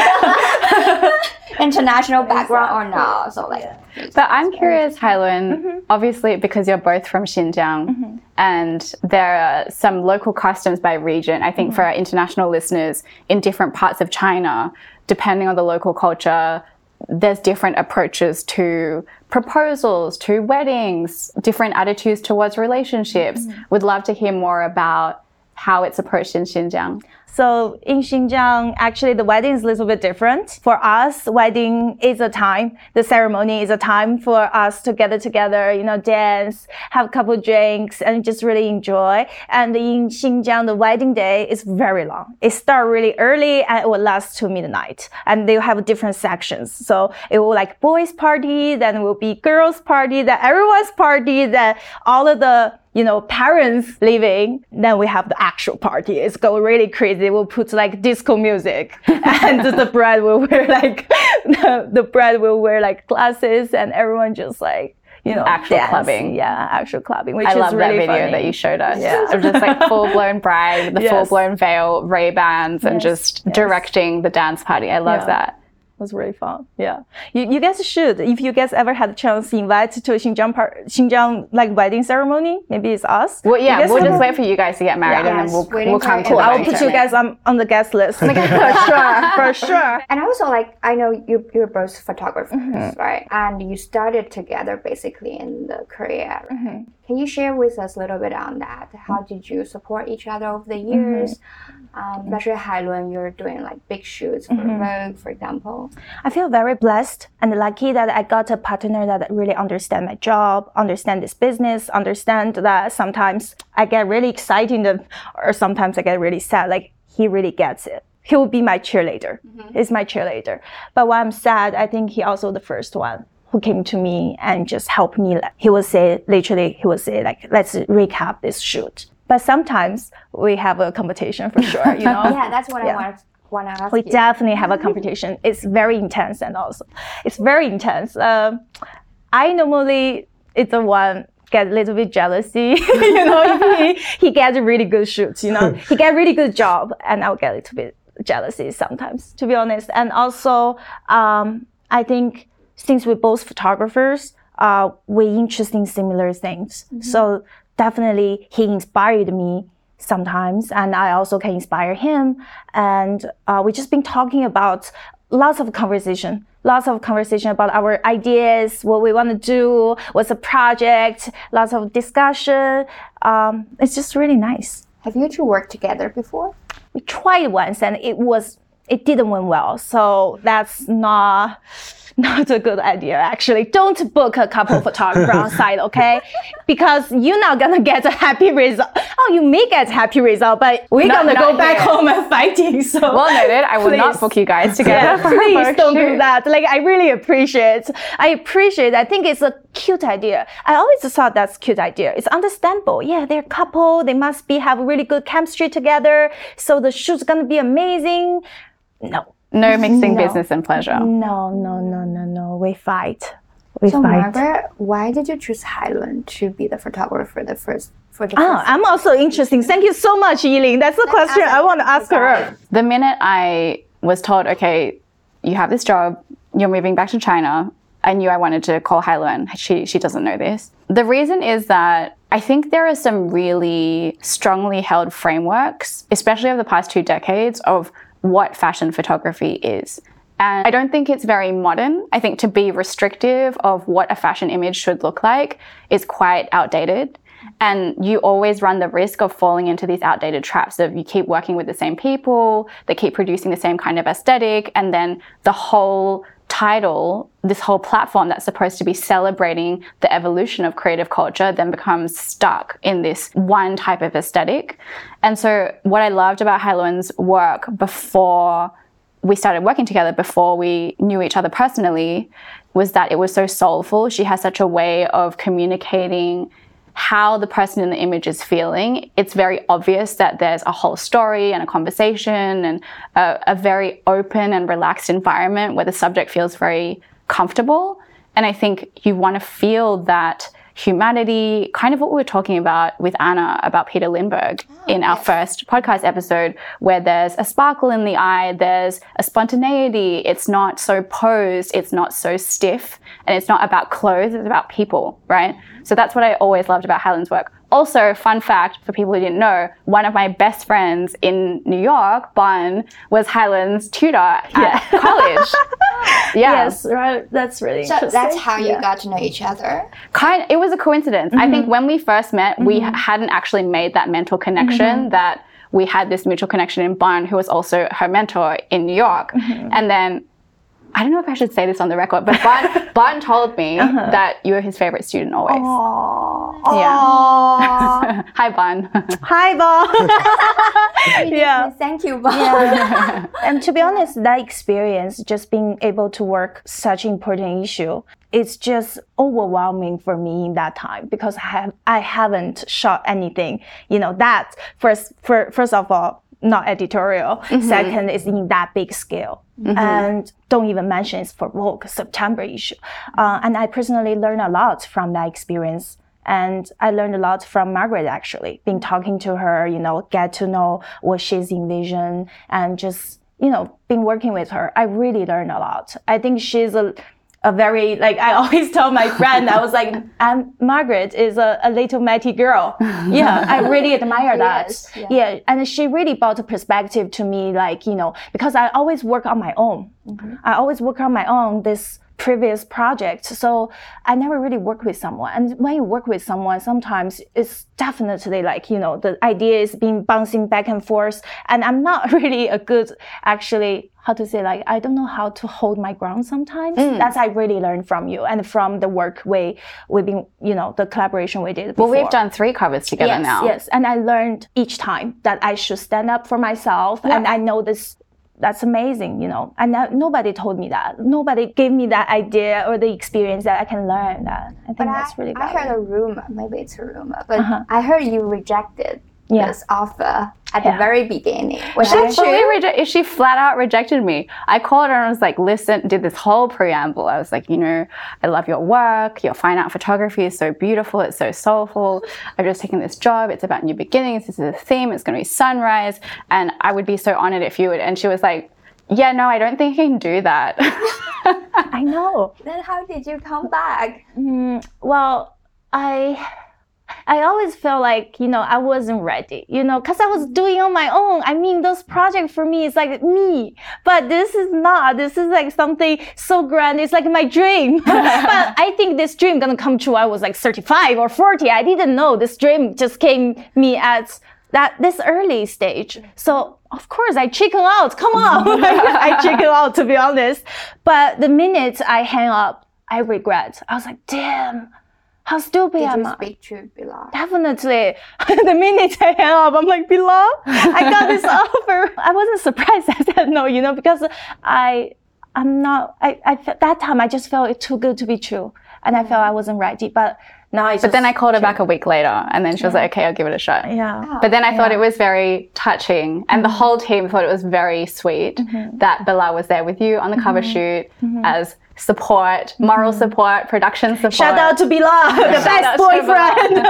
international background or not. So like, yeah. But I'm curious, Hailun, mm-hmm. obviously because you're both from Xinjiang, mm-hmm. and there are some local customs by region. I think mm-hmm. for our international listeners in different parts of China, depending on the local culture, there's different approaches to proposals, to weddings, different attitudes towards relationships. Mm-hmm. Would love to hear more about how it's approached in Xinjiang. So in Xinjiang, actually the wedding is a little bit different. For us, wedding is a time, the ceremony is a time for us to gather together, you know, dance, have a couple of drinks, and just really enjoy. And in Xinjiang, the wedding day is very long. It starts really early and it will last to midnight. And they have different sections. So it will like boys party, then it will be girls party, then everyone's party, then all of the you know, parents leaving, then we have the actual party. It's go really crazy. We'll put like disco music and the bride will wear like, the, the bride will wear like glasses and everyone just like, you know, actual dance. clubbing. Yeah, actual clubbing, which I is love really that video funny. that you showed us. Yeah. Of just like full-blown bride with the yes. full-blown veil, Ray-Bans, and yes. just yes. directing the dance party. I love yeah. that. It was really fun. Yeah. You, you guys should, if you guys ever had a chance to invite to a Xinjiang, part, Xinjiang like wedding ceremony, maybe it's us. Well, yeah, we'll just have... wait for you guys to get married yeah, and then yes, we'll, we'll come to cool. the I will wedding put you guys on, on the guest list. For sure, for sure. And also, like, I know you, you're both photographers, mm-hmm. right? And you started together basically in the Korea. Right? Mm-hmm. Can you share with us a little bit on that? How did you support each other over the years? Mm-hmm. Um, especially Hailun, you're doing like big shoots for mm-hmm. Vogue, for example. I feel very blessed and lucky that I got a partner that really understands my job, understand this business, understand that sometimes I get really excited or sometimes I get really sad. Like he really gets it. He will be my cheerleader. Mm-hmm. He's my cheerleader. But when I'm sad, I think he also the first one who came to me and just helped me. He will say, literally, he will say like, let's recap this shoot. but sometimes we have a competition for sure, you know. Yeah, that's what Yeah. I want want to ask We you. definitely have a competition. It's very intense, and also it's very intense. Um, I normally it's the one get a little bit jealousy, you know, if he, he gets a really good shoot, you know, he get a really good job, and I'll get a little bit jealousy sometimes, to be honest. And also, um, I think since we're both photographers, uh, we're interested in similar things. Mm-hmm. So definitely he inspired me sometimes, and I also can inspire him. And uh, we've just been talking about lots of conversation, lots of conversation about our ideas, what we want to do, what's the project, lots of discussion. Um, it's just really nice. Have you two worked together before? We tried once, and it was it didn't went well. So that's not. Not a good idea, actually. Don't book a couple photographer on site, okay? Because you're not gonna get a happy result. Oh, you may get a happy result, but we're Not- gonna not go back here. home and fighting. So Well noted. I will not Please. book you guys together. yeah, for a please photo don't do shoot. that. Like, I really appreciate. I appreciate. I think it's a cute idea. I always thought that's a cute idea. It's understandable. Yeah, they're a couple. They must be have really good chemistry together. So the shoot's gonna be amazing. No. No mixing No. business and pleasure. No, no, no, no, no. We fight. We So fight. Margaret, why did you choose Hailuan to be the photographer the first for the Oh, first? I'm also interesting. Thank you so much, Yiling. That's the question I want to ask her. The minute I was told, okay, you have this job, you're moving back to China, I knew I wanted to call Hailuan. She, she doesn't know this. The reason is that I think there are some really strongly held frameworks, especially over the past two decades, of what fashion photography is. And I don't think it's very modern. I think to be restrictive of what a fashion image should look like is quite outdated. And you always run the risk of falling into these outdated traps of you keep working with the same people, they keep producing the same kind of aesthetic, and then the whole title, this whole platform that's supposed to be celebrating the evolution of creative culture then becomes stuck in this one type of aesthetic. And so what I loved about Hailuan's work before we started working together, before we knew each other personally, was that it was so soulful. She has such a way of communicating how the person in the image is feeling. It's very obvious that there's a whole story and a conversation and a, a very open and relaxed environment where the subject feels very comfortable. And I think you want to feel that humanity, kind of what we were talking about with Anna about Peter Lindbergh oh, in our yes. first podcast episode, where there's a sparkle in the eye, there's a spontaneity, it's not so posed, it's not so stiff, and it's not about clothes, it's about people, right? So that's what I always loved about Hailuan's work. Also, fun fact for people who didn't know, one of my best friends in New York, Bon, was Hailuan's tutor at yeah. college. Yeah. Yes, right. That's really so interesting. that's how yeah. you got to know each other? Kind of, it was a coincidence. Mm-hmm. I think when we first met, mm-hmm. we hadn't actually made that mental connection mm-hmm. that we had this mutual connection in Bon, who was also her mentor in New York. Mm-hmm. And then, I don't know if I should say this on the record, but Bon, bon told me uh-huh. that you were his favorite student always. Aww. Yeah. Hi, Bon. Hi, Bon. yeah. Thank you, Bon. Yeah. And to be honest, that experience, just being able to work such an important issue, it's just overwhelming for me in that time because I have I haven't shot anything. You know, that first for first of all, not editorial. Mm-hmm. Second is in that big scale. Mm-hmm. And don't even mention it's for Vogue September issue. Uh, and I personally learned a lot from that experience. And I learned a lot from Margaret, actually, been talking to her, you know, get to know what she's envisioned and just, you know, been working with her. I really learned a lot. I think she's a a very, like, I always tell my friend, I was like, I'm, Margaret is a, a little mighty girl. Yeah, I really admire that. Is, yeah. yeah, and she really brought a perspective to me, like, you know, because I always work on my own. Mm-hmm. I always work on my own, this previous project. So I never really work with someone. And when you work with someone, sometimes it's definitely like, you know, the idea is being bouncing back and forth. And I'm not really a good, actually, how to say, like, I don't know how to hold my ground sometimes. Mm. That's I really learned from you and from the work we, we've been, you know, the collaboration we did before. Well, we've done three covers together yes, now. Yes, and I learned each time that I should stand up for myself. Yeah. And I know this, that's amazing, you know. And I, nobody told me that. Nobody gave me that idea or the experience that I can learn that. I think but that's I, really I valuable. heard a rumor, maybe it's a rumor, but uh-huh. I heard you rejected Yeah. this offer at Yeah. the very beginning. Was She that fully true? reje- she flat out rejected me. I called her and I was like, listen, did this whole preamble. I was like, you know, I love your work. Your fine art photography is so beautiful. It's so soulful. I've just taken this job. It's about new beginnings. This is a theme. It's going to be sunrise. And I would be so honored if you would. And she was like, yeah, no, I don't think I can do that. I know. Then how did you come back? Mm, well, I I always felt like, you know, I wasn't ready, you know, because I was doing on my own. I mean, those projects for me, it's like me. But this is not. This is like something so grand. It's like my dream. But I think this dream gonna come true. I was like thirty-five or forty. I didn't know. This dream just came me at that this early stage. So of course I chicken out. Come on. I chicken out, to be honest. But the minute I hang up, I regret. I was like, damn. How stupid Did am you I? speak to Bilal? Definitely. The minute I hang up, I'm like, Bilal, I got this offer. I wasn't surprised I said no, you know, because I, I'm not, I, I, that time I just felt it too good to be true. And I felt I wasn't ready. But now I just. But then I called her back a week later and then she was like, okay, I'll give it a shot. Yeah. But then I thought it was very touching and the whole team thought it was very sweet that Bilal was there with you on the cover shoot as support, moral support, production support. Shout out to Bilal, the Shout best out to boyfriend.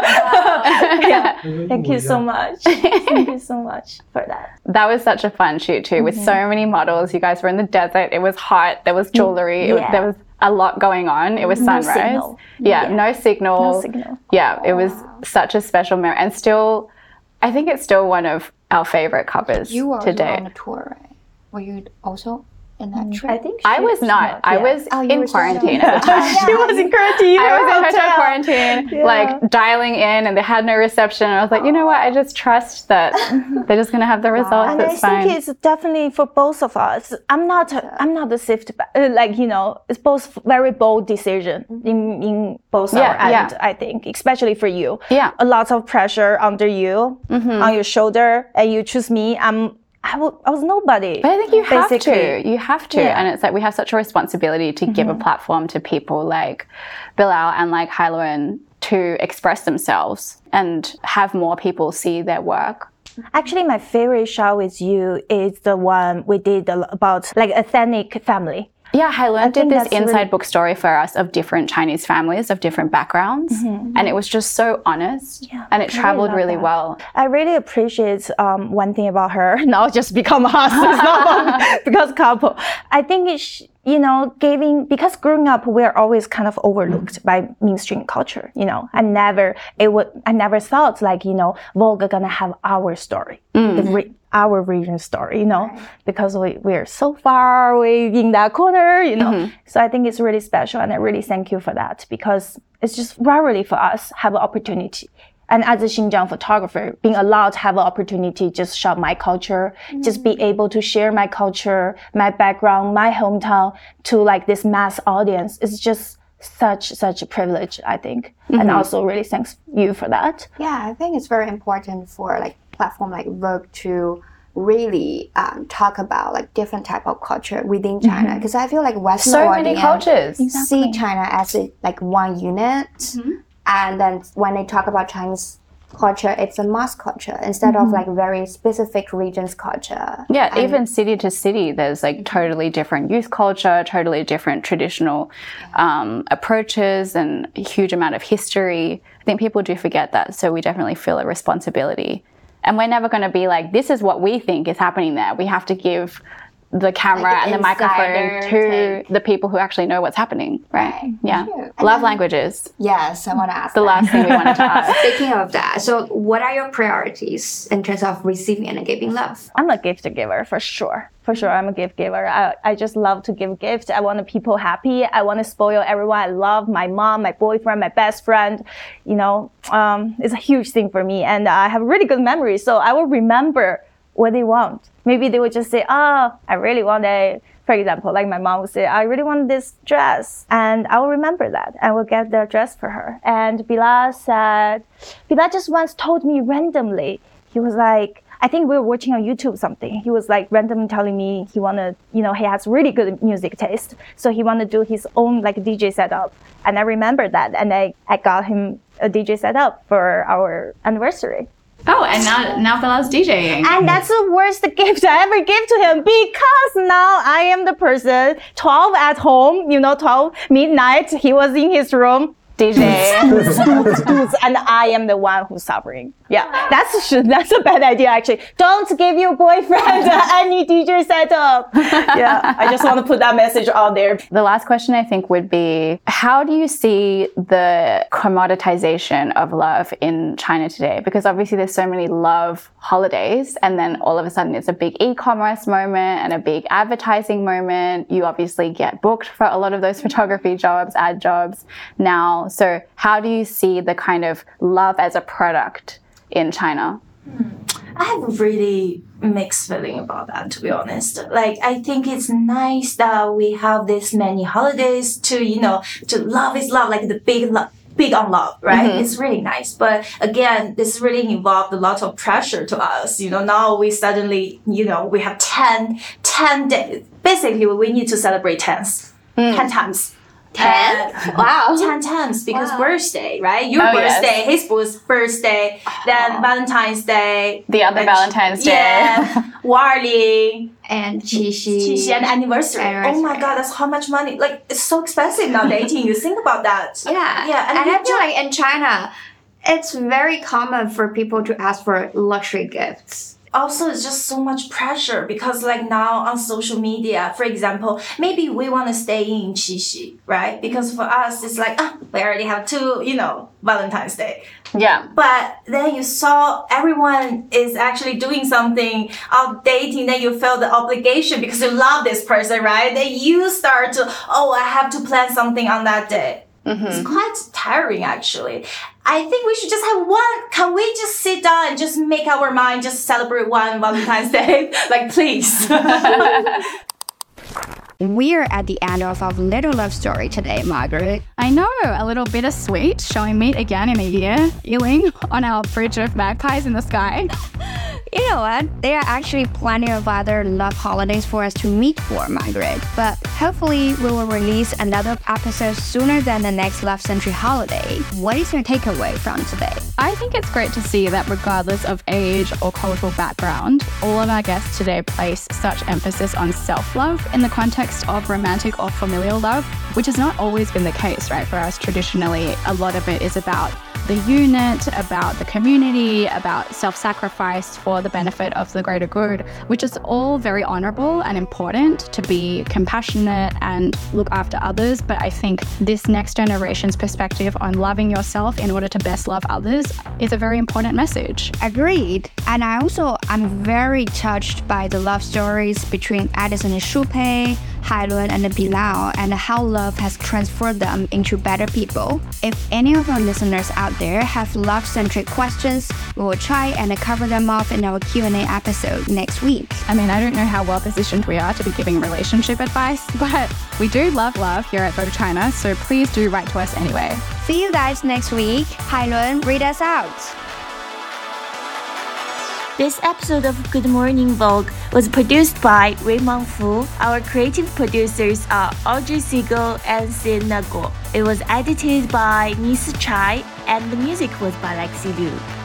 Yeah. Thank you so much. Thank you so much for that. That was such a fun shoot too, with so many models. You guys were in the desert. It was hot. There was jewelry. It was, Yeah. there was a lot going on. It was No sunrise. signal. Yeah, Yeah. no signal. No signal. Yeah, it was such a special memory. And still, I think it's still one of our favorite covers You were to date. on a tour, right? Were you also in that trip? I think I she- was not. I yeah. was Oh, you in were still quarantine not. at the time. She was in quarantine. I was in hotel hotel. quarantine, like dialing in, and they had no reception. And I was like, you know what? I just trust that they're just gonna have the results. And I It's fine. think it's definitely for both of us. I'm not. I'm not the swift, uh, like you know. It's both very bold decision in in both Yeah, our yeah. end. I think, especially for you. Yeah. A lot of pressure under you, on your shoulder, and you choose me. I'm. I, w- I was nobody. But I think you have basically. to. You have to. Yeah. And it's like we have such a responsibility to give a platform to people like Bilal and like Hailuan to express themselves and have more people see their work. Actually, my favorite shot with you is the one we did a- about like ethnic family. Yeah, Hailuan did think this that's inside really- book story for us of different Chinese families of different backgrounds. And it was just so honest and it I really traveled love really that. well. I really appreciate um, one thing about her. Now just become us, it's not because couple. I think it's, you know, giving, because growing up, we're always kind of overlooked by mainstream culture, you know. I never, it would, I never thought like, you know, Vogue are gonna have our story, the re- our region story, you know, because we, we're so far away in that corner, you know. So I think it's really special and I really thank you for that because it's just rarely for us have an opportunity. And as a Xinjiang photographer, being allowed to have an opportunity to just show my culture, just be able to share my culture, my background, my hometown to like this mass audience is just such, such a privilege, I think. And also really thanks you for that. Yeah, I think it's very important for like platform like Vogue to really um, talk about like different type of culture within China because I feel like Western So many audience cultures. see China as a, like one unit, and then when they talk about Chinese culture, it's a mass culture instead of like very specific regions culture. Yeah, And- even city to city, there's like totally different youth culture, totally different traditional um, approaches, and a huge amount of history. I think people do forget that, so we definitely feel a responsibility. And we're never going to be like, this is what we think is happening there. We have to give the camera Like an and the microphone insider to take. the people who actually know what's happening, right? Right, Yeah. true. And Love then- languages. Yes, I want to ask The that. last thing we wanted to ask. Speaking of that, so what are your priorities in terms of receiving and giving love? I'm a gift giver for sure. For sure, I'm a gift giver. I, I just love to give gifts. I want the people happy. I want to spoil everyone I love, my mom, my boyfriend, my best friend. You know, um, it's a huge thing for me. And I have really good memories. So I will remember what they want. Maybe they would just say, oh, I really want a, for example, like my mom would say, I really want this dress. And I will remember that. I will get the dress for her. And Bilal said, Bilal just once told me randomly, he was like, I think we were watching on YouTube something. He was like randomly telling me he wanna, you know, he has really good music taste. So he wanna do his own like D J setup. And I remember that. And I, I got him a D J setup for our anniversary. Oh, and now now Bilal's DJing. And that's the worst gift I ever gave to him because now I am the person, twelve at home, you know, twelve midnight, he was in his room. D J, and I am the one who's suffering. Yeah, that's that's a bad idea actually. Don't give your boyfriend any D J setup. Yeah, I just want to put that message out there. The last question I think would be, how do you see the commoditization of love in China today? Because obviously there's so many love holidays, and then all of a sudden it's a big e-commerce moment and a big advertising moment. You obviously get booked for a lot of those photography jobs, ad jobs now. So how do you see the kind of love as a product in China? I have really mixed feeling about that, to be honest. Like, I think it's nice that we have this many holidays to, you know, to love is love, like the big love. Big on love, right? Mm-hmm. It's really nice. But again, this really involved a lot of pressure to us. You know, now we suddenly, you know, we have ten, ten days. Basically, we need to celebrate tens, mm. ten times. Ten? Uh, wow. Ten times because wow. birthday, right? Your oh, birthday, yes. his birthday, oh. then Valentine's Day. The other Valentine's Day. Yeah. Warling. And Qixi. Qixi and anniversary. anniversary. Oh my God, that's how much money. Like, it's so expensive now dating. You think about that. Yeah. Yeah. And, and I feel just, like in China, it's very common for people to ask for luxury gifts. Also, it's just so much pressure because like now on social media, for example, maybe we want to stay in Qixi, right? Because for us, it's like, oh, we already have two, you know, Valentine's Day. Yeah. But then you saw everyone is actually doing something out dating, then you feel the obligation because you love this person, right? Then you start to, oh, I have to plan something on that day. Mm-hmm. It's quite tiring, actually. I think we should just have one. Can we just sit down and just make our mind just celebrate one Valentine's Day? Like, please. We're at the end of our little love story today, Margaret. I know, a little bittersweet, showing meet again in a year, Yiling on our bridge of magpies in the sky. You know what? There are actually plenty of other love holidays for us to meet for, Margaret. But hopefully we will release another episode sooner than the next Love Century holiday. What is your takeaway from today? I think it's great to see that regardless of age or cultural background, all of our guests today place such emphasis on self-love in the context of romantic or familial love, which has not always been the case, right? For us, traditionally, a lot of it is about the unit, about the community, about self-sacrifice for the benefit of the greater good, which is all very honorable and important to be compassionate and look after others. But I think this next generation's perspective on loving yourself in order to best love others is a very important message. Agreed. And I also am very touched by the love stories between Edison and Shu Pei, Hailun and Bilal, and how love has transformed them into better people. If any of our listeners out there have love-centric questions, we will try and cover them off in our Q and A episode next week. I mean, I don't know how well positioned we are to be giving relationship advice, but we do love love here at Vogue China, so please do write to us anyway. See you guys next week. Hailun, read us out. This episode of Good Morning Vogue was produced by Raymond Fu. Our creative producers are Audrey Siegel and Sina Guo. It was edited by Nisa Chai, and the music was by Lexi Liu.